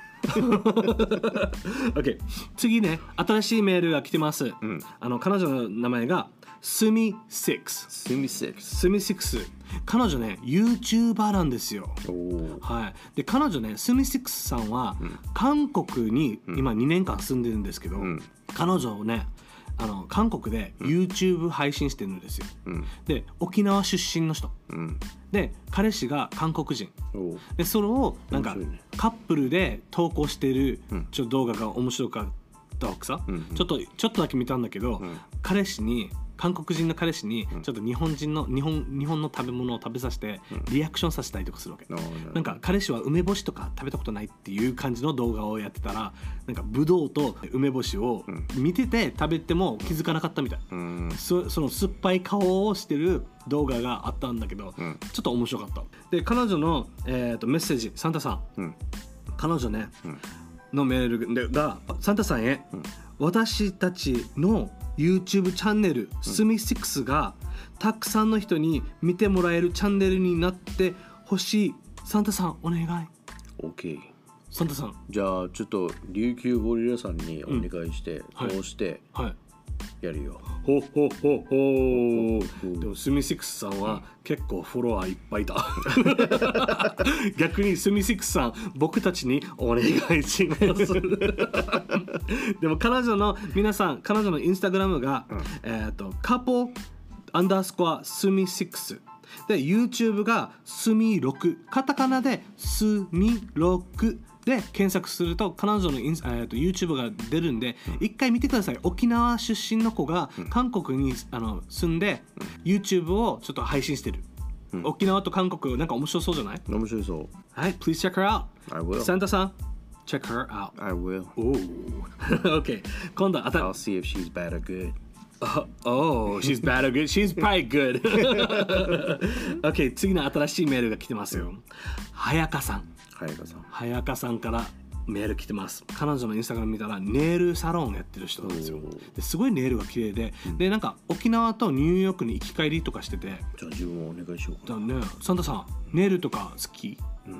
？OK。次ね、新しいメールが来てます。うん、あの彼女の名前がスミシックス。 スミシックス。 スミシックス。彼女ね、YouTuber なんですよ。はい。で、彼女ね、スミシックスさんは、うん、韓国に今にねんかん住んでるんですけど、うん、彼女をね、あの韓国で YouTube 配信してるんですよ。うん、で、沖縄出身の人。うん、で、彼氏が韓国人。で、それをなんか、ね、カップルで投稿してるちょっと動画が面白かったわけさ。うんうん、ちょっとちょっとだけ見たんだけど、うん、彼氏に韓国人の彼氏にちょっと日本人の日本日本の食べ物を食べさせてリアクションさせたりとかするわけ。うん、なんか彼氏は梅干しとか食べたことないっていう感じの動画をやってたら、なんかブドウと梅干しを見てて食べても気づかなかったみたい。うん、そ, その酸っぱい顔をしてる動画があったんだけど、うん、ちょっと面白かった。で、彼女の、えー、とメッセージ、サンタさん、うん、彼女ね、うん、のメールがサンタさんへ、うん、私たちのYouTube チャンネル、うん、スミシックスがたくさんの人に見てもらえるチャンネルになってほしい。サンタさんお願い。 OK。 サンタさん、 じゃあちょっと琉球ゴリラさんにお願いして、うん、こうしてやるよ。 ほうほうほうほう。でもスミシックスさんは結構フォロワーいっぱいだ。逆にスミシックスさん、僕たちにお願いします。でも彼女の皆さん、彼女のインスタグラムが、うん、えっとカポアンダースコアスミシックスで、 YouTube がスミろく、カタカナでスミろくで検索すると彼女のインス、えー、と YouTube が出るんで、うん、一回見てください。沖縄出身の子が韓国に、あの住んで、うん、YouTube をちょっと配信してる。うん、沖縄と韓国なんか面白そうじゃない？ 面白そう。 はい、please check her out. I will. サンタさん check her out. I will. OK。今度は I'll see if she's bad or good. Oh, oh, she's bad or good? She's probably good. OK、次の新しいメールが来てますよ。はやかさん。 はやかさん。 はやかさんからメール来てます。彼女のインスタグラム見たらネイルサロンやってる人なんですよ。ですごいネイルが綺麗で、うん、でなんか沖縄とニューヨークに行き帰りとかしてて。 じゃあ自分もお願いしようか。 だね、サンタさんネイルとか好き？うん、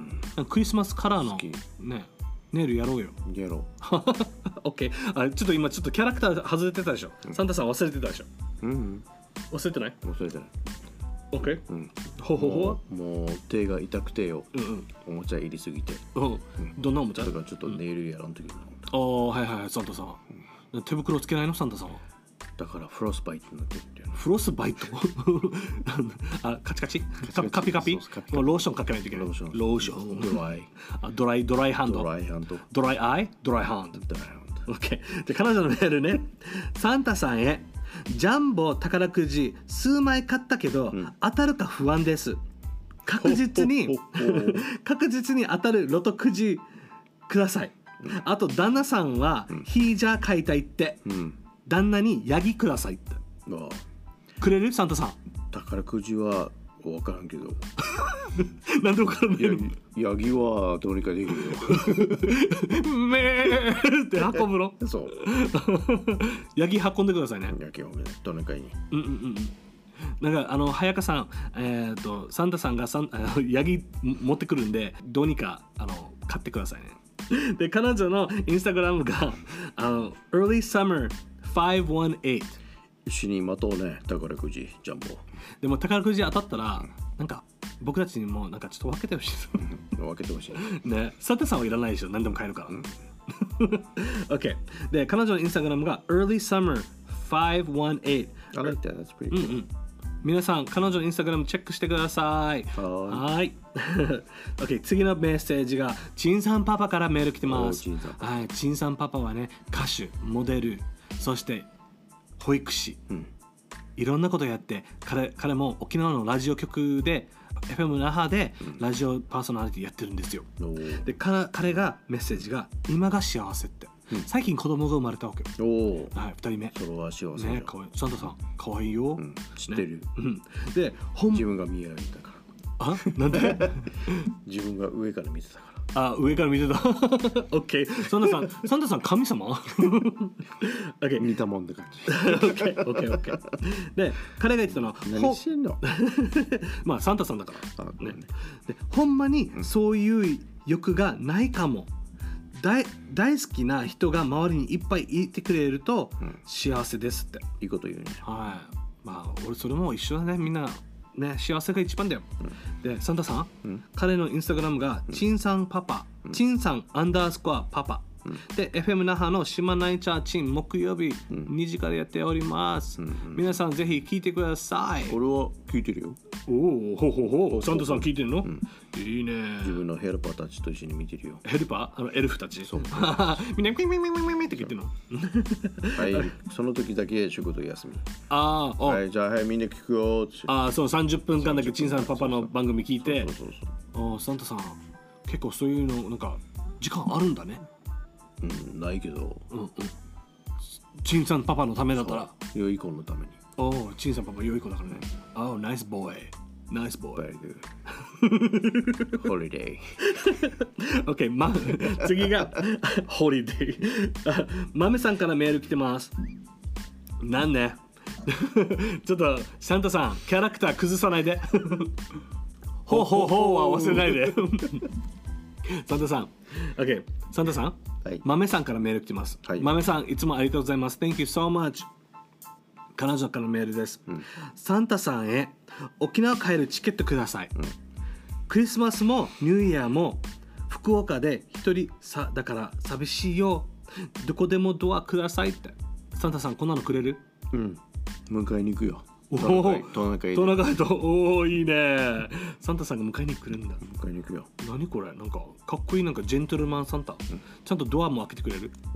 クリスマスカラーのねネイルやろうよ。 やろう。 OK。あ、ちょっと今ちょっとキャラクター外れてたでしょ。うん、サンタさん忘れてたでしょ。うん、うん、忘れてない？ 忘れてない。 OK。 うん。 ほほほ。 もう手が痛くてよ。うんうん。おもちゃ入りすぎて。 うん。どんなおもちゃ？ だからちょっとネイルやらんときな。 ああ、はいはい、サンタさん。うん、手袋つけないのサンタさんは？ だからフロスバイトになってるんだよね。 フロスバイトあ、カチカチカピカピ、もうローションかけないといけない。ローション。ローション。 ドライ。 あ、ドライ、ドライハンド。 ドライハンド。 ドライアイドライハンド。 ドライハンド。 OK。で、彼女のメールね。サンタさんへ。ジャンボ宝くじ数枚買ったけど、うん、当たるか不安です。確実に確実に当たるロトくじください。うん、あと旦那さんは、うん、ヒージャー買いたいって、うん、旦那にヤギくださいって。ああ、くれる？サンタさん。 宝くじは分からんけど。 なんで分からないの？ ヤギはどうにかできるよ。 めーって運ぶの？ そう。 ヤギ運んでくださいね。 ヤギをどうにかに。 うんうんうん。 なんかあの早川さん、えー、とサンタさんがサンヤギ持ってくるんでどうにかあの買ってくださいね。で彼女のインスタグラムがあの Early Summerごひゃくじゅうはち一緒に待とうね宝くじジャンボ。 でも宝くじ当たったら、うん、なんか僕たちにもなんかちょっと分けてほしいです。 分けてほしいね。サンタさんはいらないでしょ、何でも買えるから。うん、OK で彼女のインスタグラムが Early Summerごひゃくじゅうはち。 I like that. That's pretty cool. うんうん、皆さん彼女のインスタグラムチェックしてください。はい。OK 次のメッセージがチンさんパパからメール来てます。はい、チンさんパパはね歌手、モデル、そして保育士、うん、いろんなことやって 彼, 彼も沖縄のラジオ局で エフエム 那覇でラジオパーソナリティやってるんですよ。うん、で 彼, 彼がメッセージが今が幸せって、うん、最近子供が生まれたわけよ。お、はい、ふたりめ。 それは幸せね。かわいい。サンタさんかわいいよ、うん、 知ってる、ね、 うん、で自分が見えられたから。 あ、なんで自分が上から見てたから。 あ、上から見てた。オッケー。サンタさん、サンタさん神様？オッケー。 似たもんって感じ。 オッケー、オッケー、オッケー。で、彼が言ってたのは、 何してんの？ まあサンタさんだから。ね。で、ほんまにそういう欲がないかも。大, 大好きな人が周りにいっぱいいてくれると幸せですって。 いいこと言うね。 はい。まあ俺それも一緒だね、みんな。ね、幸せが一番だよ、うん、でサンタさん、うん、彼のインスタグラムが、うん、チンさんパパ、うん、チンさんアンダースコアパパ、うん、で エフエム 那覇の島ナイチャーチン木曜日、うん、にじからやっております、うんうん、皆さんぜひ聞いてください。 俺は聞いてるよ。 おお、ほほほ、サンタさん聞いてるの、うん、いいね。 自分のヘルパーたちと一緒に見てるよ。 ヘルパー、あのエルフたち。そうみんなピンピンピンピンピンって聞いてるの。 はい、その時だけ仕事休み。 ああ、 はい、じゃあはいみんな聞くよ。 ああ、そうさんじゅっぷんかんだけチンさんパパの番組聞いて。そうそうそうそう。あ、サンタさん結構そういうのなんか時間あるんだね。 うん、ないけど、うんうん、 チンさんパパのためだったら良い子のために。 おお、チンさんパパ良い子だからね。おお、ナイスボーイ、ナイスボーイ。 ホリデー。オッケー、ま、次がホリデー。マメさんからメール来てます。なんねちょっとサンタさんキャラクター崩さないで。ほうほうほうは忘れないで。サンタさん、OK、サンタさん、はい、豆さんからメール来てます。はい、豆さん、いつもありがとうございます。Thank you so much。彼女からのメールです。うん、サンタさんへ沖縄帰るチケットください。うん、クリスマスもニューイヤーも福岡で一人さだから寂しいよ。どこでもドアくださいって。サンタさん、こんなのくれる？ うん。迎えに行くよ。 おお、トナカイと、おお、いいね。サンタさんが迎えに来るんだ。 迎えに行くよ。 何これ、なんかかっこいい、なんかジェントルマンサンタ、うん、ちゃんとドアも開けてくれる、うん、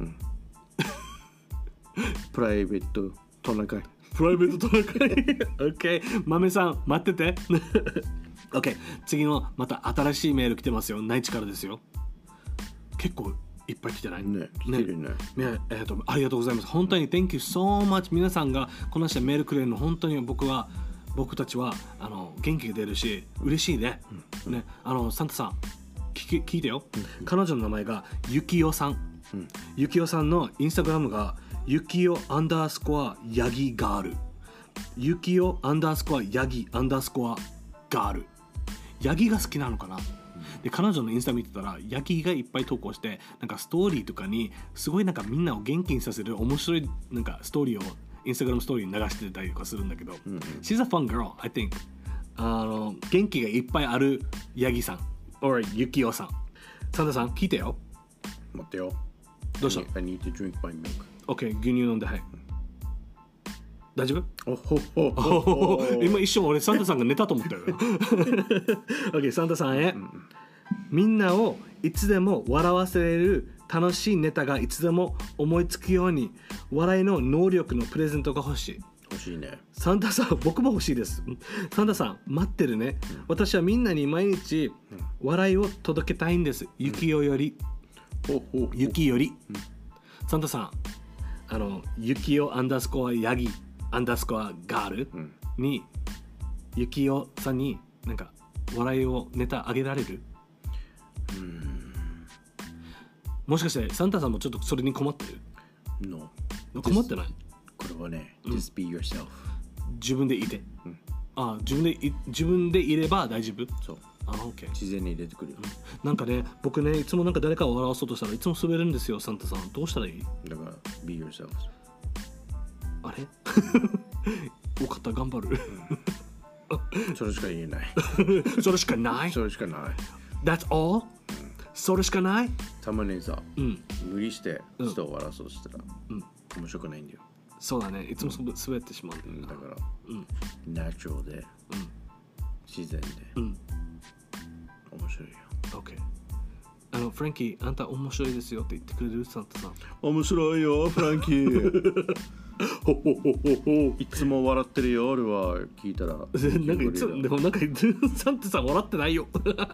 プライベートトナカイ、 プライベートトナカイ。オッケー、豆さん待ってて。オッケー、次のまた新しいメール来てますよ。内地からですよ。結構いっぱい来てないね。来てるね。ね、 えーと、ありがとうございます。本当に Thank you so much。皆さんがこの人メールくれるの本当に僕は僕たちはあの元気が出るし嬉しいね。うん、ね、あのサンタさん聞, 聞いてよ。うん、彼女の名前がゆきよさん。うん、ゆきよさんのインスタグラムがゆきよアンダースコアヤギガール。ゆきよアンダースコアヤギアンダースコアガール。ヤギが好きなのかな。で彼女のインスタ見てたらヤギがいっぱい投稿してなんかストーリーとかにすごいなんかみんなを元気にさせる面白いなんかストーリーをインスタグラムストーリーに流してたりとかするんだけど、うんうん、She's a fun girl, I think。 あの元気がいっぱいあるヤギさん or ユキオさん。サンタさん聞いてよ。 待ってよ。 どうした？ I need to drink my milk。 OK、 牛乳飲んで。はい、大丈夫？ おほほほほ今一瞬俺サンタさんが寝たと思ったよ。OK、 サンタさんへ、うん、みんなをいつでも笑わせれる楽しいネタがいつでも思いつくように笑いの能力のプレゼントが欲しい。 欲しいね。 サンタさん、僕も欲しいです。サンタさん待ってるね、うん、私はみんなに毎日笑いを届けたいんです。ゆきよより、うん、ゆきより、うん、サンタさん、あのゆきよアンダースコアヤギアンダースコアガールに、うん、ゆきよさんになんか笑いをネタあげられる？うーん、もしかしてサンタさんもちょっとそれに困ってる？ No。 困ってない？ これはね、うん、Just be yourself。 自分でいて、 うん、 あ自分でい自分でいれば大丈夫。 そうあ、OK、 自然に出てくるよ、 うん、なんかね僕ねいつもなんか誰かを笑わそうとしたらいつも滑るんですよ。サンタさんどうしたらいい？ だから be yourself。 あれよかった頑張る、 うん、それしか言えないそれしかないそれしかない。 That's all、うん、それしかない。 たまにさ、うん、無理して人を笑わそうとしたら、 うん、 面白くないんだよ。 そうだねいつも滑ってしまうんだよな、 だから、うん、ナチュラルで、うん、自然で、うん、面白いよ。 OK。 あのフランキーあんた面白いですよって言ってくれる？サンタさん面白いよフランキーほほほほほいつも笑ってるよ俺は。聞いたらなんかいつでもなんかサンタさん笑ってないよ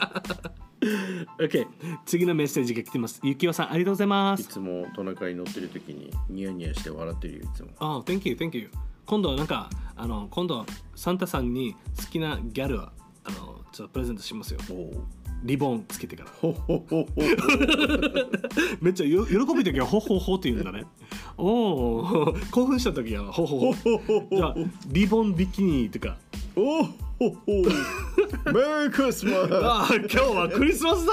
OK 次のメッセージが来てます。ゆきおさんありがとうございます。 いつもトナカイに乗ってる時にニヤニヤして笑ってるよいつも。 あ、oh, Thank you Thank you。 今度なんかあの今度サンタさんに好きなギャルはあのちょっとプレゼントしますよ。リボンつけてからほほほほめっちゃよ喜ぶ時はほほほって言うんだね。おお興奮した時はほほほじゃあリボンビキニとかおほほメリークリスマスあ今日はクリスマスだ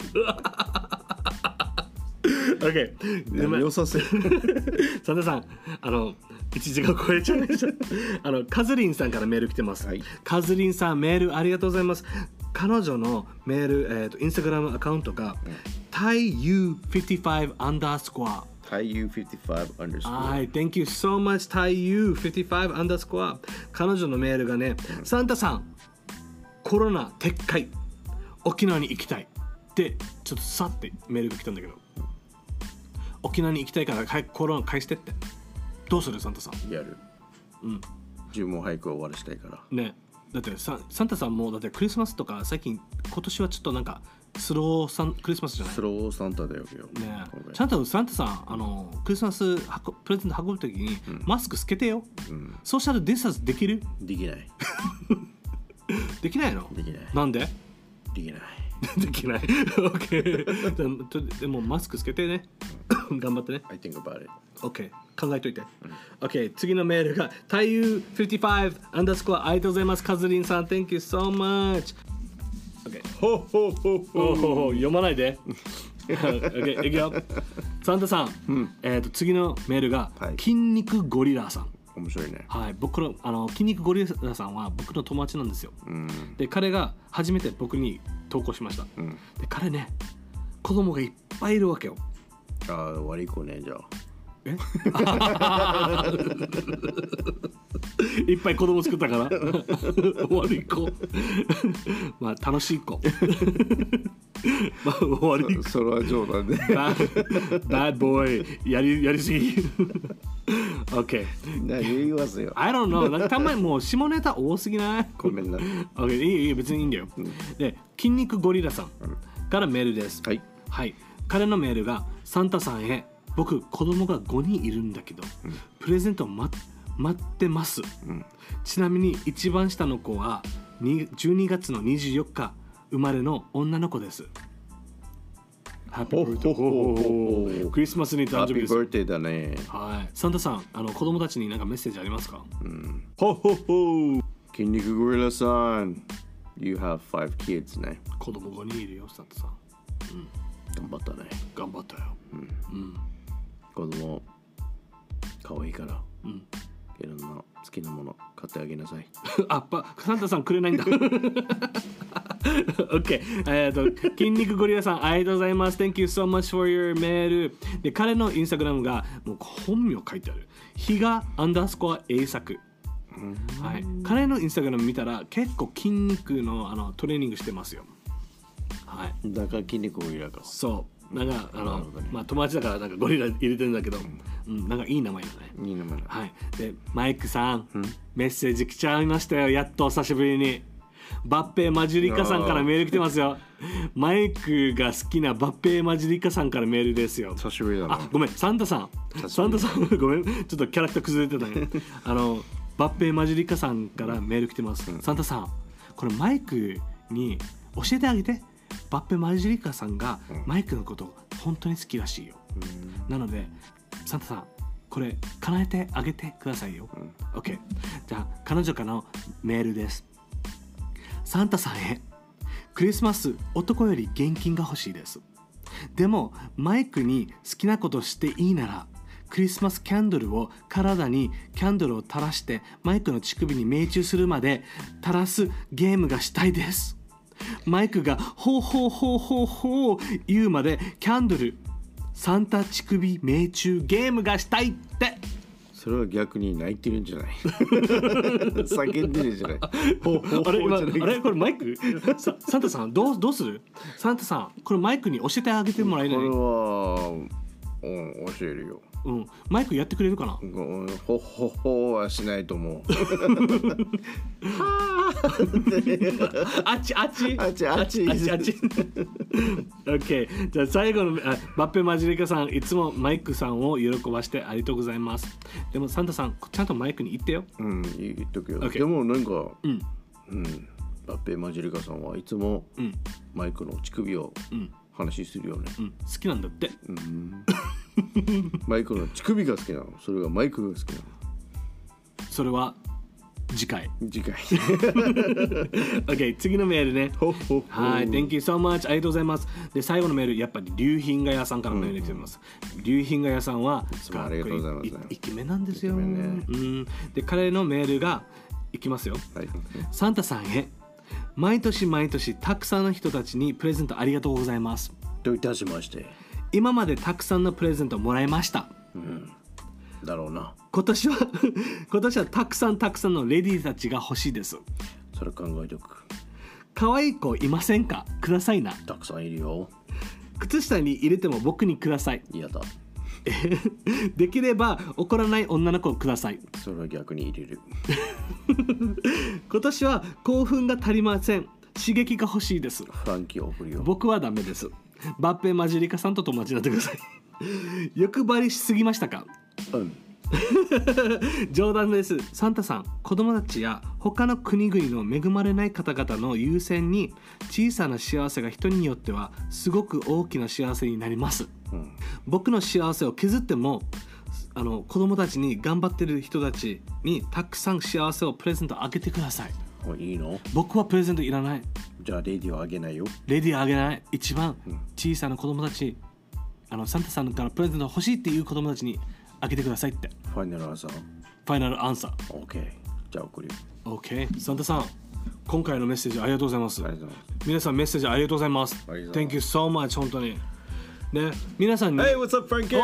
OK 良させサンタさんあのいちじが超えちゃいましたあのカズリンさんからメール来てます、はい、カズリンさんメールありがとうございます。彼女のメール、えーと、インスタグラムアカウントが、うん、タイユーフィフティファイブ アンダースコアタイユーフィフティファイブ アンダースコアはい Thank you so much タイユーフィフティファイブ アンダースコア。彼女のメールがね、うん、サンタさんコロナ撤回沖縄に行きたいってちょっとさってメールが来たんだけど、うん、沖縄に行きたいからコロナ返してってどうするサンタさん？ やる。 うん。 自分も早く終わらしたいから。 ね。だってササンタさんもだってクリスマスとか最近今年はちょっとなんかスローサンクリスマスじゃない？ スローサンタだよ。 ね。ちゃんとサンタさんあのクリスマスプレゼント運ぶときに、うん、マスクつけてよ。うん、そうしたらディスタンスできる？できない。できないの？できない。なんで？ できない。 できない。OK でもマスクつけてね。頑張ってね。 I think about it. OK 考えといて。OK 次のメールがタイユーフィフティファイブアンダースコアありがとうございます。カズリンさん Thank you so much。OK ほほほほほ読まないで。OK いくよ。サンタさん、うん、えっと次のメールが、はい、筋肉ゴリラさん。 面白いね。 はい、僕のあの筋肉ゴリラさんは僕の友達なんですよ。うん、で彼が初めて僕に投稿しました。うん、で彼ね子供がいっぱいいるわけよ。 ああ悪い子ねじゃあ。えいっぱい子供作ったから悪い子まあ楽しい子まあ悪い子それは冗談でバッドボーイやりやりすぎOK 何言いますよ I don't know なんかたまにもう下ネタ多すぎないごめんな OK いいいい別にいいんだよ、うん、で筋肉ゴリラさんからメールです、うん、はい、はい、彼のメールがサンタさんへ僕子供がごにんいるんだけど、うん、プレゼントを待ってます、うん、ちなみに一番下の子はじゅうにがつのにじゅうよっか生まれの女の子です。ハッピーバースデークリスマスに誕生日です。 ハッピーバースデーだね。 はい。サンタさんあの子供たちに何かメッセージありますか？ うん、ほほほ筋肉ゴリラさん You have five kids ね。 子供ごにんいるよサンタさん、 うん、頑張ったね。 頑張ったよ、うんうん、 子供可愛いから、うん、いろんな好きなもの買ってあげなさいあっぱサンタさんくれないんだOK えっと筋肉ゴリラさんありがとうございます Thank you so much for your メールで彼のインスタグラムがもう本名書いてある比嘉アンダースコア栄作、はい、彼のインスタグラム見たら結構筋肉 の, あのトレーニングしてますよ。はい、 だから筋肉ゴリラか。 そうなんかあの、ね、まあ友達だからなんかゴリラ入れてるんだけど、うん、うん、なんかいい名前だね。 いい名前だ。 はい。でマイクさん、うん、メッセージ来ちゃいましたよ。やっと久しぶりにバッペマジリカさんからメール来てますよ。マイクが好きなバッペマジリカさんからメールですよ。 久しぶりだな。 あごめんサンタさんサンタさんごめんちょっとキャラクター崩れてたねあのバッペマジリカさんからメール来てます、うん、サンタさんこれマイクに教えてあげて。バッペマジリカさんがマイクのこと本当に好きらしいよ、うん、なのでサンタさんこれ叶えてあげてくださいよ、うん、OK。 じゃあ彼女からのメールです。サンタさんへ、クリスマス男より現金が欲しいです。でもマイクに好きなことしていいならクリスマスキャンドルを体にキャンドルを垂らしてマイクの乳首に命中するまで垂らすゲームがしたいです。マイクがほうほうほうほうほう言うまでキャンドルサンタ乳首命中ゲームがしたいって。 それは逆に泣いてるんじゃない叫んでるんじゃないあれ今あれこれマイクササンタさんどうどうする？サンタさんこれマイクに教えてあげてもらえない？ これは、うん、教えるよ。 うん、マイクやってくれるかな？ うん、ほほほはしないと思うあっちあっちあっちあっちあっちあっちOK。 じゃあ最後のあバッペマジリカさん、いつもマイクさんを喜ばしてありがとうございます。でもサンタさんちゃんとマイクに言ってよ。 うん言っとくよ、 okay。 でもなんかうん、 うん、バッペマジリカさんはいつもマイクの乳首を話するよね、 うんうん、好きなんだって、 うんマイクの乳首が好きなの？それがマイクが好きなの？ それは次回次回 OK 次のメールね。 ほほほはい Thank you so much ありがとうございます。で最後のメールやっぱり龍品画屋さんからメール来てます、うん、龍品画屋さんはいつもありがとうございます、ね、 イケメンなんですよ、 ね、 うん、で彼のメールがいきますよ、はい、サンタさんへ、毎年毎年たくさんの人たちにプレゼントありがとうございます。 どういたしまして。 今までたくさんのプレゼントをもらいました、 うん、だろうな。 今年は今年はたくさんたくさんのレディーたちが欲しいです。 それ考えておく。 可愛い子いませんか？くださいな。 たくさんいるよ。靴下に入れても僕にください。 嫌だできれば怒らない女の子をください。 それは逆に入れる今年は興奮が足りません。刺激が欲しいです。 フランキーを送るよ。 僕はダメです。バッペマジリカさんと友達になってください欲張りしすぎましたか？ うん冗談です。サンタさん、子供たちや他の国々の恵まれない方々の優先に小さな幸せが人によってはすごく大きな幸せになります、うん、僕の幸せを削ってもあの子供たちに頑張ってる人たちにたくさん幸せをプレゼントあげてください。 いいの？ 僕はプレゼントいらない。 じゃあレディーをあげないよ。 レディーあげない。一番小さな子供たち、あのサンタさんからプレゼント欲しいっていう子供たちにあげてくださいって。 ファイナルアンサー。 ファイナルアンサー。 OK。 じゃあ送るよ。 OK。 サンタさん、今回のメッセージありがとうございます。ありがとうございます。皆さんメッセージありがとうございます。 Thank you so much。 本当にね、皆さんに Hey, what's up, Frankie?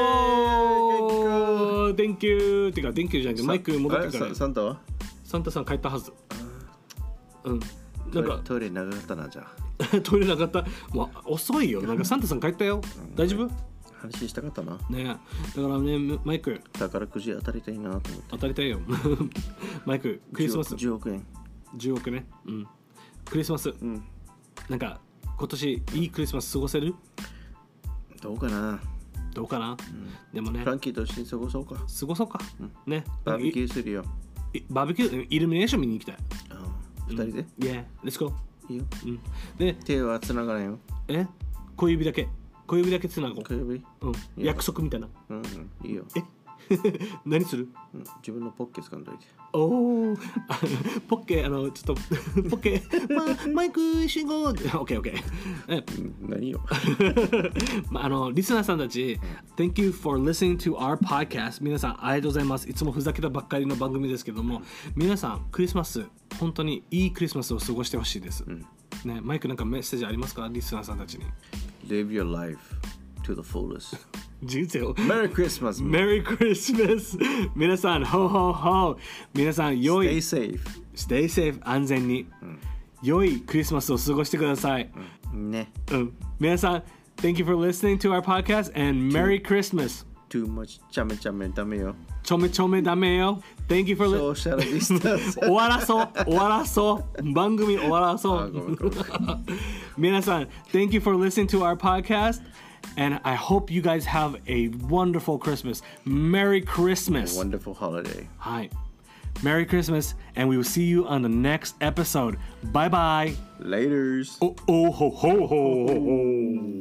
Oh, thank you ってか Thank you じゃなくてマイク戻ってから。 サンタは？ サンタさん帰ったはず。うん、なんかトイレ長かったな。じゃあトイレ長かった。もう遅いよ。なんかサンタさん帰ったよ。大丈夫？ 話したかったな。 ね、だからね、マイク宝くじ当たりたいなと思って。 当たりたいよマイク、クリスマスじゅうおくえん。 じゅうおくね。うん。クリスマス、うん、なんか今年いいクリスマス過ごせる？ どうかな。 どうかな、うん、でもね、 フランキーと一緒に過ごそうか。 過ごそうか、うん、ね。 バーベキューするよ。 バーベキュー、イルミネーション見に行きたい。 二人で？ Yeah, let's go。 いいよ。うん。 で、手は繋がないよ。 え？小指だけ。小指だけ繋ごう。 小指？ うん。約束みたいな。 うん、うん、いいよ。 え？何する？ うん、自分のポッケ掴んどいて。 おお。ポッケ、あのちょっとポッケ、ま、マイク信号。オッケーオッケー。え、 何よ。 まあのリスナーさんたち、Thank you for listening to our podcast。皆さんありがとうございます。いつもふざけたばっかりの番組ですけども、皆さんクリスマス本当にいいクリスマスを過ごしてほしいです。うん、ね、マイクなんかメッセージありますか？リスナーさんたちに。 Live your life to the fullest。 人生を Merry Christmas Merry Christmas 皆さんホーホーホー皆さん良い Stay safe Stay safe 安全に、うん、良いクリスマスを過ごしてください、 うん、ね、 うん、皆さん Thank you for listening to our podcast and Merry Christmas Too much ちゃめちゃめダメよちょめちょめダメよ Thank you for listening 終わらそう終わらそう番組終わらそう皆さん Thank you for listening to our podcast And I hope you guys have a wonderful Christmas. Merry Christmas. A wonderful holiday. Hi. Merry Christmas. And we will see you on the next episode. Bye bye. Laters. Oh, oh, ho, ho, ho, ho, ho.